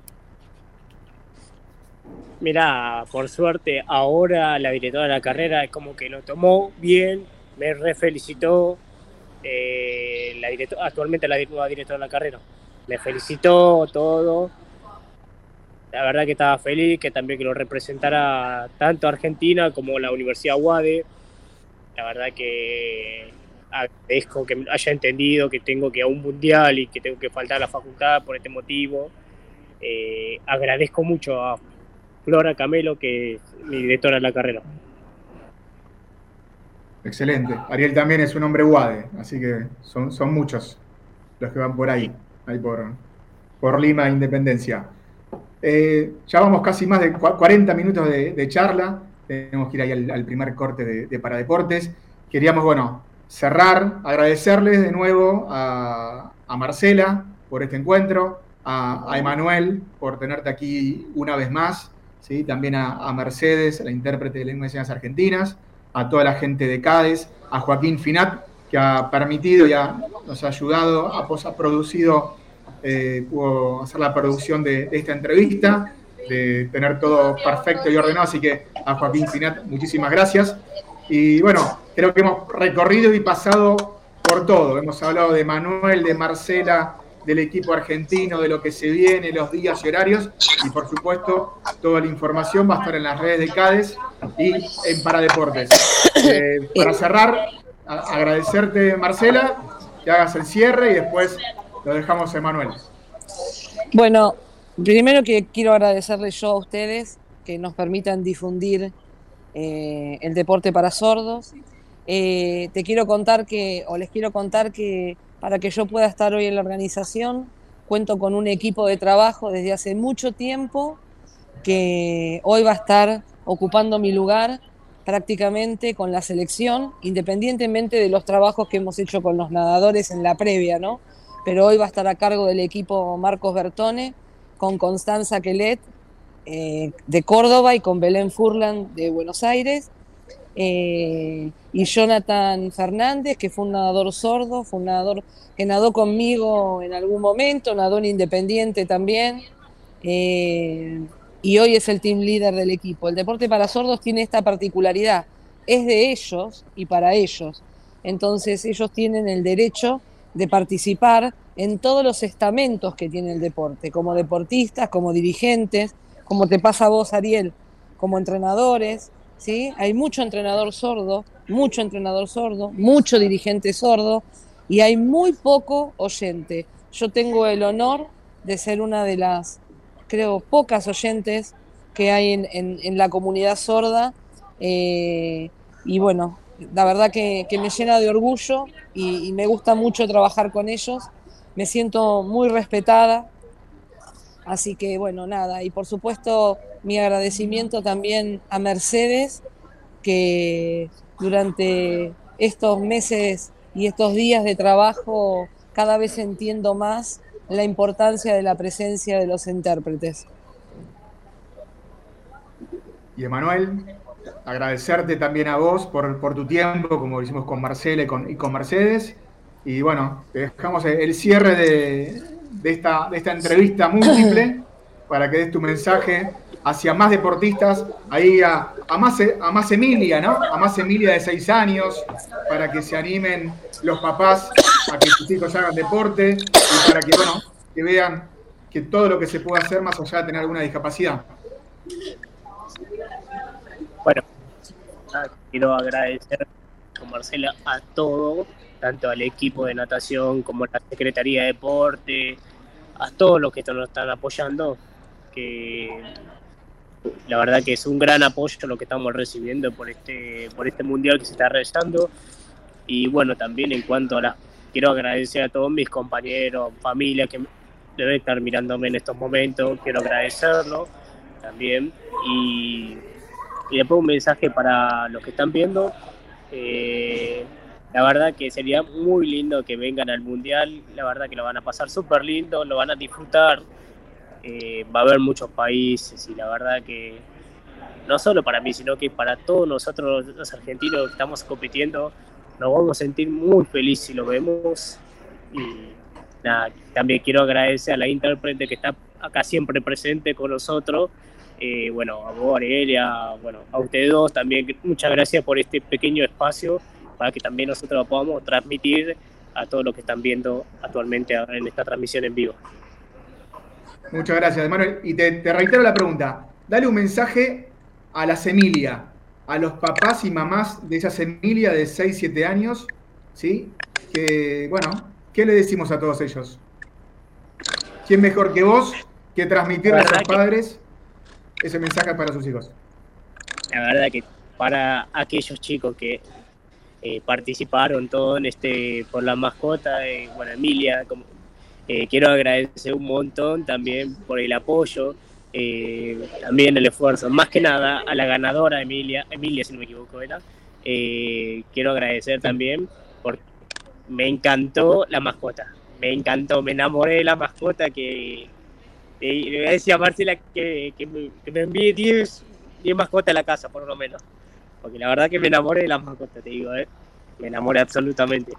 Mirá, por suerte, ahora la directora de la carrera es como que lo tomó bien, me refelicitó. Eh, la director, actualmente la nueva directora de la carrera me felicitó todo. La verdad que estaba feliz, que también que lo representara tanto Argentina como la Universidad UADE. La verdad que agradezco que haya entendido que tengo que ir a un mundial y que tengo que faltar a la facultad por este motivo. Eh, agradezco mucho a Flora Camelo, que es mi directora de la carrera. Excelente. Ariel también es un hombre UADE, así que son, son muchos los que van por ahí, ahí por, por Lima Independencia. Eh, ya vamos casi más de cuarenta minutos de, de charla. Tenemos que ir ahí al, al primer corte de, de Paradeportes. Queríamos, bueno, cerrar, agradecerles de nuevo a, a Marcela por este encuentro, a, a Emanuel por tenerte aquí una vez más, ¿sí? También a, a Mercedes, la intérprete de lenguas y señas argentinas, a toda la gente de CADES, a Joaquín Finat, que ha permitido y ha, nos ha ayudado, ha, ha producido, eh, pudo hacer la producción de, de esta entrevista, de tener todo perfecto y ordenado, así que a Joaquín Finat, muchísimas gracias. Y bueno, creo que hemos recorrido y pasado por todo. Hemos hablado de Manuel, de Marcela, del equipo argentino, de lo que se viene, los días y horarios, y por supuesto, toda la información va a estar en las redes de CADES y en Paradeportes. Eh, para cerrar, a agradecerte, Marcela, que hagas el cierre y después lo dejamos a Emanuel. Bueno, primero que quiero agradecerles yo a ustedes que nos permitan difundir eh, el deporte para sordos. Eh, te quiero contar que, o les quiero contar que para que yo pueda estar hoy en la organización, cuento con un equipo de trabajo desde hace mucho tiempo que hoy va a estar ocupando mi lugar prácticamente con la selección, independientemente de los trabajos que hemos hecho con los nadadores en la previa, ¿no? Pero hoy va a estar a cargo del equipo Marcos Bertone, con Constanza Quelet eh, de Córdoba y con Belén Furlan de Buenos Aires. eh, y Jonathan Fernández, que fue un nadador sordo, fue un nadador que nadó conmigo en algún momento, nadó en Independiente también, eh, y hoy es el team leader del equipo. El deporte para sordos tiene esta particularidad, es de ellos y para ellos. Entonces ellos tienen el derecho de participar en todos los estamentos que tiene el deporte, como deportistas, como dirigentes, como te pasa a vos, Ariel, como entrenadores, ¿sí? Hay mucho entrenador sordo, mucho entrenador sordo, mucho dirigente sordo, y hay muy poco oyente. Yo tengo el honor de ser una de las, creo, pocas oyentes que hay en, en, en la comunidad sorda, eh, y bueno, la verdad que, que me llena de orgullo y, y me gusta mucho trabajar con ellos, me siento muy respetada, así que bueno, nada, y por supuesto mi agradecimiento también a Mercedes, que durante estos meses y estos días de trabajo cada vez entiendo más la importancia de la presencia de los intérpretes. Y Emanuel, agradecerte también a vos por, por tu tiempo, como lo hicimos con Marcela y con, y con Mercedes. Y bueno, te dejamos el cierre de, de, esta, de esta entrevista múltiple para que des tu mensaje hacia más deportistas, ahí a, a, más, a más Emilia, ¿no? A más Emilia de seis años, para que se animen los papás a que sus hijos hagan deporte y para que, bueno, que vean que todo lo que se puede hacer más allá de tener alguna discapacidad. Bueno, quiero agradecer con Marcela a todo, tanto al equipo de natación como a la Secretaría de Deporte, a todos los que nos están apoyando, que la verdad que es un gran apoyo lo que estamos recibiendo por este, por este mundial que se está realizando. Y bueno, también en cuanto a las, quiero agradecer a todos mis compañeros, familia que deben estar mirándome en estos momentos, quiero agradecerlo también. Y Y después un mensaje para los que están viendo. Eh, la verdad que sería muy lindo que vengan al Mundial. La verdad que lo van a pasar súper lindo, lo van a disfrutar. Eh, va a haber muchos países y la verdad que no solo para mí, sino que para todos nosotros los argentinos que estamos compitiendo, nos vamos a sentir muy felices si lo vemos. Y nada, también quiero agradecer a la intérprete que está acá siempre presente con nosotros. Eh, bueno, a vos, Arelia, bueno, a ustedes dos también, muchas gracias por este pequeño espacio para que también nosotros lo podamos transmitir a todos los que están viendo actualmente en esta transmisión en vivo. Muchas gracias, Manuel. Y te, te reitero la pregunta. Dale un mensaje a las Emilia, a los papás y mamás de esas Emilia de seis, siete años, ¿sí? Que, bueno, ¿qué le decimos a todos ellos? ¿Quién mejor que vos que transmitirle a sus padres ese mensaje para sus hijos? La verdad que para aquellos chicos que eh, participaron todo en este por la mascota, eh, bueno, Emilia, como, eh, quiero agradecer un montón también por el apoyo, eh, también el esfuerzo, más que nada a la ganadora Emilia, Emilia si no me equivoco era, eh, quiero agradecer también porque me encantó la mascota, me encantó, me enamoré de la mascota que y le voy a decir a Marcela que, que, me, que me envíe diez mascotas a la casa, por lo menos. Porque la verdad que me enamoré de las mascotas, te digo, ¿eh? Me enamoré absolutamente.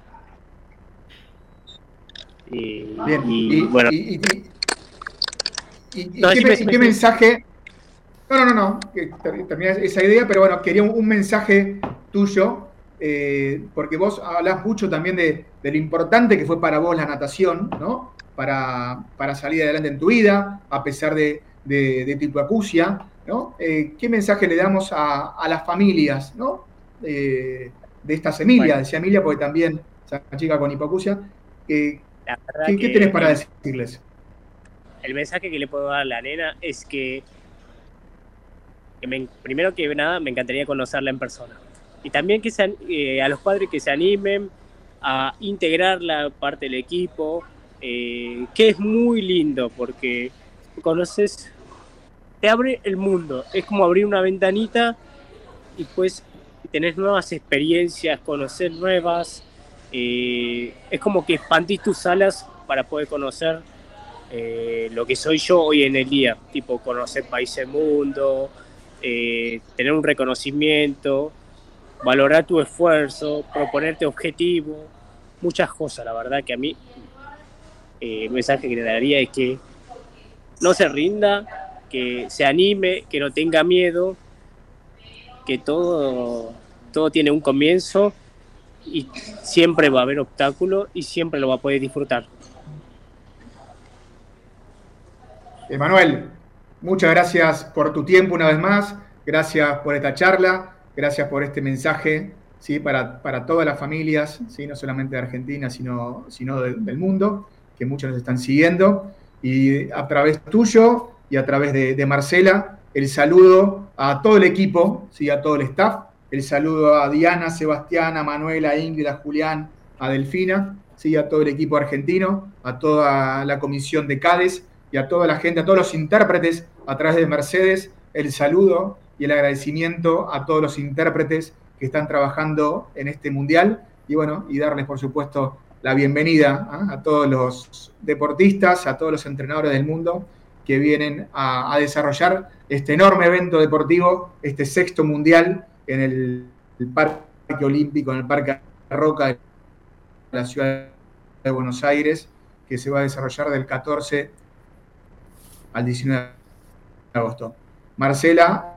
Y, Bien, y, y, bueno. Y, y, y, y, no, ¿qué, me, ¿qué mensaje? No, no, no, no, que termina esa idea, pero bueno, quería un, un mensaje tuyo, eh, porque vos hablás mucho también de, de lo importante que fue para vos la natación, ¿no? Para, para salir adelante en tu vida, a pesar de, de, de tu hipoacusia, ¿no? Eh, ¿Qué mensaje le damos a, a las familias, ¿no? Eh, de estas Emilia, bueno. Decía Emilia, porque también esa chica con hipoacusia, eh, ¿qué, ¿qué tenés para decirles? El mensaje que le puedo dar a la nena es que, que me, primero que nada me encantaría conocerla en persona. Y también que se, eh, a los padres que se animen a integrar la parte del equipo, Eh, que es muy lindo porque conoces, te abre el mundo, es como abrir una ventanita y pues tenés nuevas experiencias, conocer nuevas, eh, es como que expandís tus alas para poder conocer eh, lo que soy yo hoy en el día, tipo conocer países del mundo, eh, tener un reconocimiento valorar tu esfuerzo, proponerte objetivos, muchas cosas. La verdad que a mí eh, el mensaje que le daría es que no se rinda, que se anime, que no tenga miedo, que todo, todo tiene un comienzo y siempre va a haber obstáculos y siempre lo va a poder disfrutar. Emanuel, muchas gracias por tu tiempo una vez más, gracias por esta charla, gracias por este mensaje, ¿sí? para, para todas las familias, ¿sí? No solamente de Argentina, sino, sino de, del mundo, que muchos nos están siguiendo, y a través tuyo y a través de, de Marcela, el saludo a todo el equipo, ¿sí? A todo el staff, el saludo a Diana, Sebastián, a Manuela, a Ingrid, a Julián, a Delfina, ¿sí? A todo el equipo argentino, a toda la comisión de CADES, y a toda la gente, a todos los intérpretes a través de Mercedes, el saludo y el agradecimiento a todos los intérpretes que están trabajando en este mundial, y bueno, y darles por supuesto la bienvenida ¿eh? a todos los deportistas, a todos los entrenadores del mundo que vienen a, a desarrollar este enorme evento deportivo, este sexto mundial en el, el Parque Olímpico, en el Parque Roca de la ciudad de Buenos Aires, que se va a desarrollar del catorce al diecinueve de agosto. Marcela.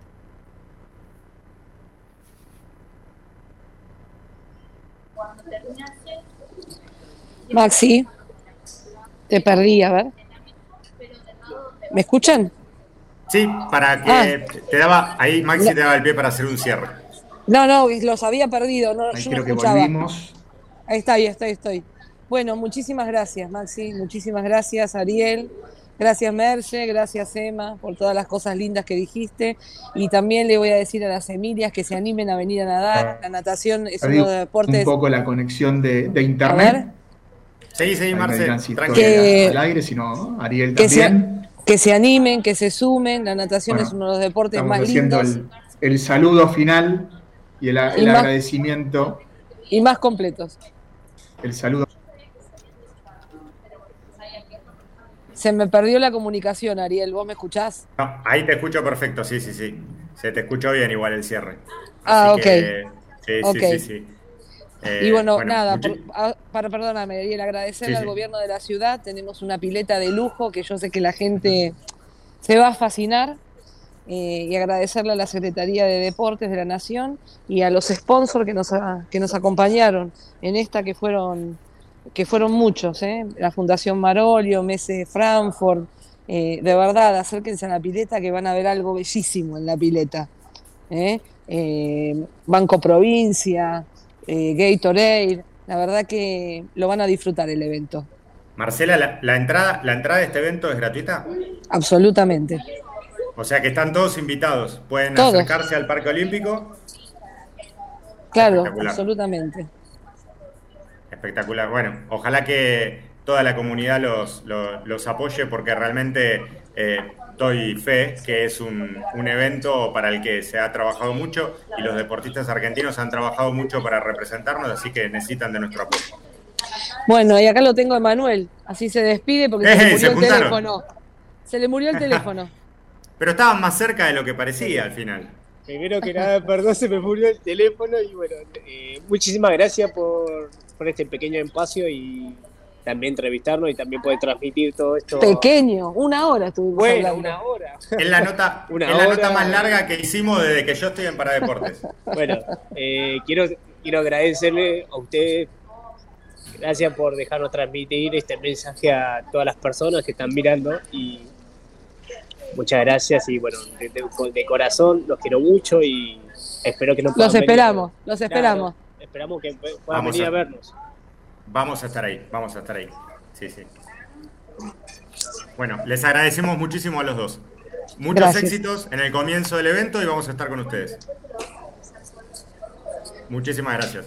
Maxi, te perdí, a ver. ¿Me escuchan? Sí, para que ah. te daba, ahí Maxi no. te daba el pie para hacer un cierre. No, no, los había perdido, no, ahí yo creo no que escuchaba. Volvimos. Ahí está, ahí estoy, estoy. Bueno, muchísimas gracias, Maxi, muchísimas gracias, Ariel. Gracias, Merce, gracias, Emma, por todas las cosas lindas que dijiste. Y también le voy a decir a las Emilias que se animen a venir a nadar. La natación es uno de los deportes... Un poco la conexión de, de internet. Sí, sí, Marce, que, al aire, sino Ariel que también. Se, que se animen, que se sumen. La natación bueno, es uno de los deportes más lindos. El, el saludo final y el, el y agradecimiento. Más, y más completos. El saludo. Se me perdió la comunicación, Ariel. ¿Vos me escuchás? No, ahí te escucho perfecto, sí, sí, sí. Se te escuchó bien igual el cierre. Ah, Así ok. Que, sí, okay. sí, sí, sí. Eh, y bueno, bueno nada, muchi- por, a, para perdóname, Ariel, agradecerle sí, al sí. gobierno de la ciudad. Tenemos una pileta de lujo que yo sé que la gente se va a fascinar. Eh, y agradecerle a la Secretaría de Deportes de la Nación y a los sponsors que nos, a, que nos acompañaron en esta, que fueron... que fueron muchos, ¿eh? La Fundación Marolio, Messe Frankfurt, eh, de verdad, acérquense a la pileta que van a ver algo bellísimo en la pileta. ¿eh? Eh, Banco Provincia, eh, Gatorade, la verdad que lo van a disfrutar el evento. Marcela, la, la, entrada, ¿la entrada de este evento es gratuita? Absolutamente. O sea que están todos invitados, pueden todos. acercarse al Parque Olímpico. Claro, absolutamente. Espectacular. Bueno, ojalá que toda la comunidad los, los, los apoye porque realmente eh, doy fe que es un, un evento para el que se ha trabajado mucho y los deportistas argentinos han trabajado mucho para representarnos, así que necesitan de nuestro apoyo. Bueno, y acá lo tengo a Emanuel, así se despide porque eh, se le murió se el juntaron. teléfono. Se le murió el teléfono. Pero estaban más cerca de lo que parecía al final. Primero que nada, perdón, se me murió el teléfono y bueno, eh, muchísimas gracias por, por este pequeño espacio y también entrevistarnos y también poder transmitir todo esto. Pequeño, una hora estuvimos bueno, hablando. una hora. Es la nota, una es la hora. nota más larga que hicimos desde que yo estoy en Paradeportes. Bueno, eh, quiero, quiero agradecerle a ustedes. Gracias por dejarnos transmitir este mensaje a todas las personas que están mirando y muchas gracias y bueno, de, de, de corazón los quiero mucho y espero que nos puedan Los esperamos, venir. los esperamos. Claro, esperamos que puedan Vamos venir a, a vernos. Vamos a estar ahí, vamos a estar ahí. Sí, sí. Bueno, les agradecemos muchísimo a los dos. Muchos Gracias. éxitos en el comienzo del evento y vamos a estar con ustedes. Muchísimas gracias.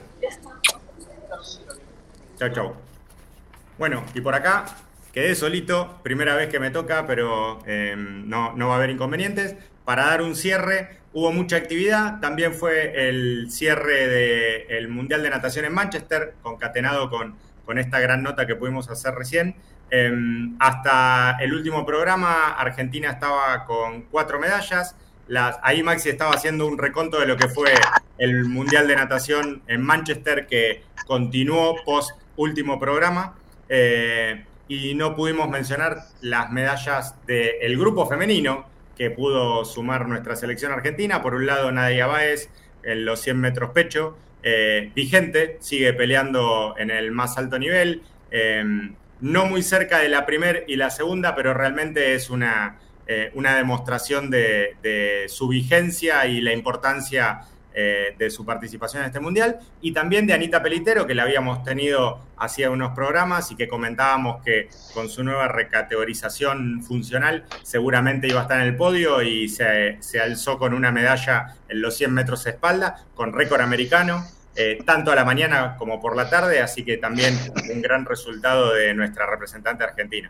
Chau, chau. Bueno, y por acá quedé solito, primera vez que me toca, pero eh, no, no va a haber inconvenientes. Para dar un cierre, hubo mucha actividad. También fue el cierre del Mundial de Natación en Manchester, concatenado con, con esta gran nota que pudimos hacer recién. Eh, hasta el último programa, Argentina estaba con cuatro medallas. las, ahí Maxi estaba haciendo un reconto de lo que fue el Mundial de Natación en Manchester, que continuó post último programa, eh, y no pudimos mencionar las medallas del grupo femenino que pudo sumar nuestra selección argentina. Por un lado, Nadia Báez en los cien metros pecho, eh, vigente, sigue peleando en el más alto nivel, eh, no muy cerca de la primera y la segunda, pero realmente es una, eh, una demostración de, de su vigencia y la importancia eh, de su participación en este Mundial. Y también de Anita Pelitero, que la habíamos tenido hacía unos programas y que comentábamos que con su nueva recategorización funcional seguramente iba a estar en el podio, y se, se alzó con una medalla en los cien metros de espalda, con récord americano. Eh, tanto a la mañana como por la tarde, así que también un gran resultado de nuestra representante argentina.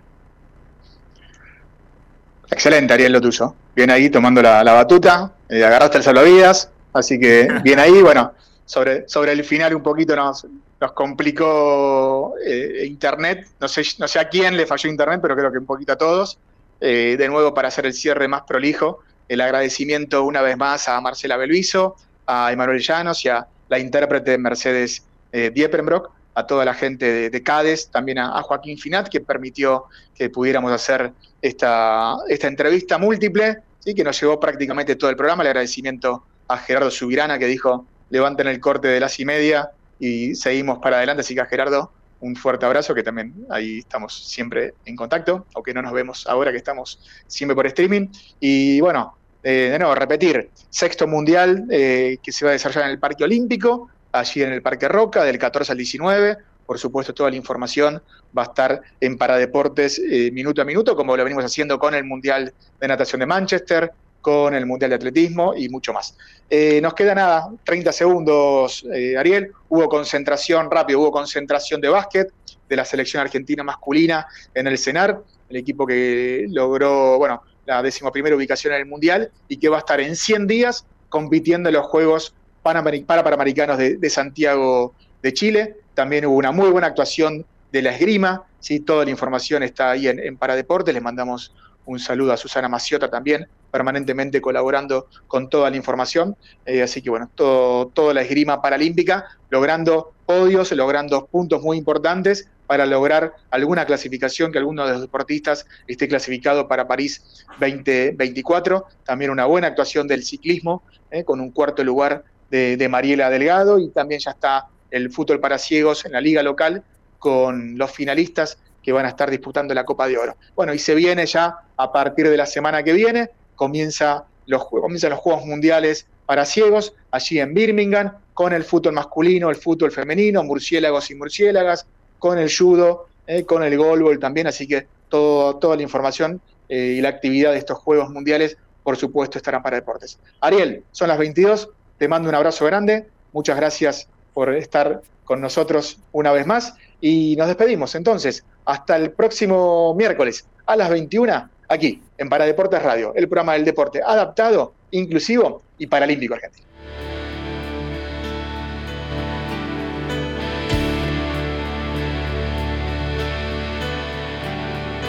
Excelente, Ariel, lo tuyo. Bien ahí tomando la, la batuta, eh, agarraste el salvavidas, así que bien ahí. Bueno, sobre, sobre el final un poquito nos, nos complicó eh, internet, no sé, no sé a quién le falló internet, pero creo que un poquito a todos. Eh, de nuevo, para hacer el cierre más prolijo, el agradecimiento una vez más a Marcela Belviso, a Emanuel Llanos y a la intérprete Mercedes eh, Diepenbrock, a toda la gente de, de CADES, también a, a Joaquín Finat, que permitió que pudiéramos hacer esta, esta entrevista múltiple, ¿sí? Que nos llevó prácticamente todo el programa. El agradecimiento a Gerardo Subirana, que dijo, levanten el corte de las y media y seguimos para adelante. Así que a Gerardo, un fuerte abrazo, que también ahí estamos siempre en contacto, aunque no nos vemos ahora que estamos siempre por streaming. Y bueno, Eh, de nuevo, repetir, sexto mundial eh, que se va a desarrollar en el Parque Olímpico, allí en el Parque Roca, del catorce al diecinueve. Por supuesto, toda la información va a estar en Paradeportes eh, minuto a minuto, como lo venimos haciendo con el Mundial de Natación de Manchester, con el Mundial de Atletismo y mucho más. Eh, nos queda nada, treinta segundos, eh, Ariel. Hubo concentración, rápido, hubo concentración de básquet de la selección argentina masculina en el CENAR, el equipo que logró, bueno, la decimoprimera ubicación en el Mundial y que va a estar en cien días compitiendo en los Juegos Panamericanos de, de Santiago de Chile. También hubo una muy buena actuación de la esgrima, ¿sí? Toda la información está ahí en, en Paradeportes. Les mandamos un saludo a Susana Maciota también, permanentemente colaborando con toda la información. Eh, así que bueno, todo, toda la esgrima paralímpica, logrando podios, logrando puntos muy importantes para lograr alguna clasificación, que alguno de los deportistas esté clasificado para París veinte veinticuatro. También una buena actuación del ciclismo, eh, con un cuarto lugar de, de Mariela Delgado, y también ya está el fútbol para ciegos en la liga local con los finalistas que van a estar disputando la Copa de Oro. Bueno, y se viene ya a partir de la semana que viene, comienza los, comienzan los Juegos Mundiales para ciegos, allí en Birmingham, con el fútbol masculino, el fútbol femenino, murciélagos y murciélagas, con el judo, eh, con el goalball también, así que todo, toda la información eh, y la actividad de estos Juegos Mundiales, por supuesto, estarán para deportes. Ariel, son las veintidós, te mando un abrazo grande, muchas gracias por estar con nosotros una vez más, y nos despedimos entonces, hasta el próximo miércoles a las veintiuna, aquí en Paradeportes Radio, el programa del deporte adaptado, inclusivo y paralímpico argentino.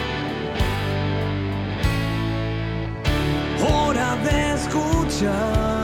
Hora de escuchar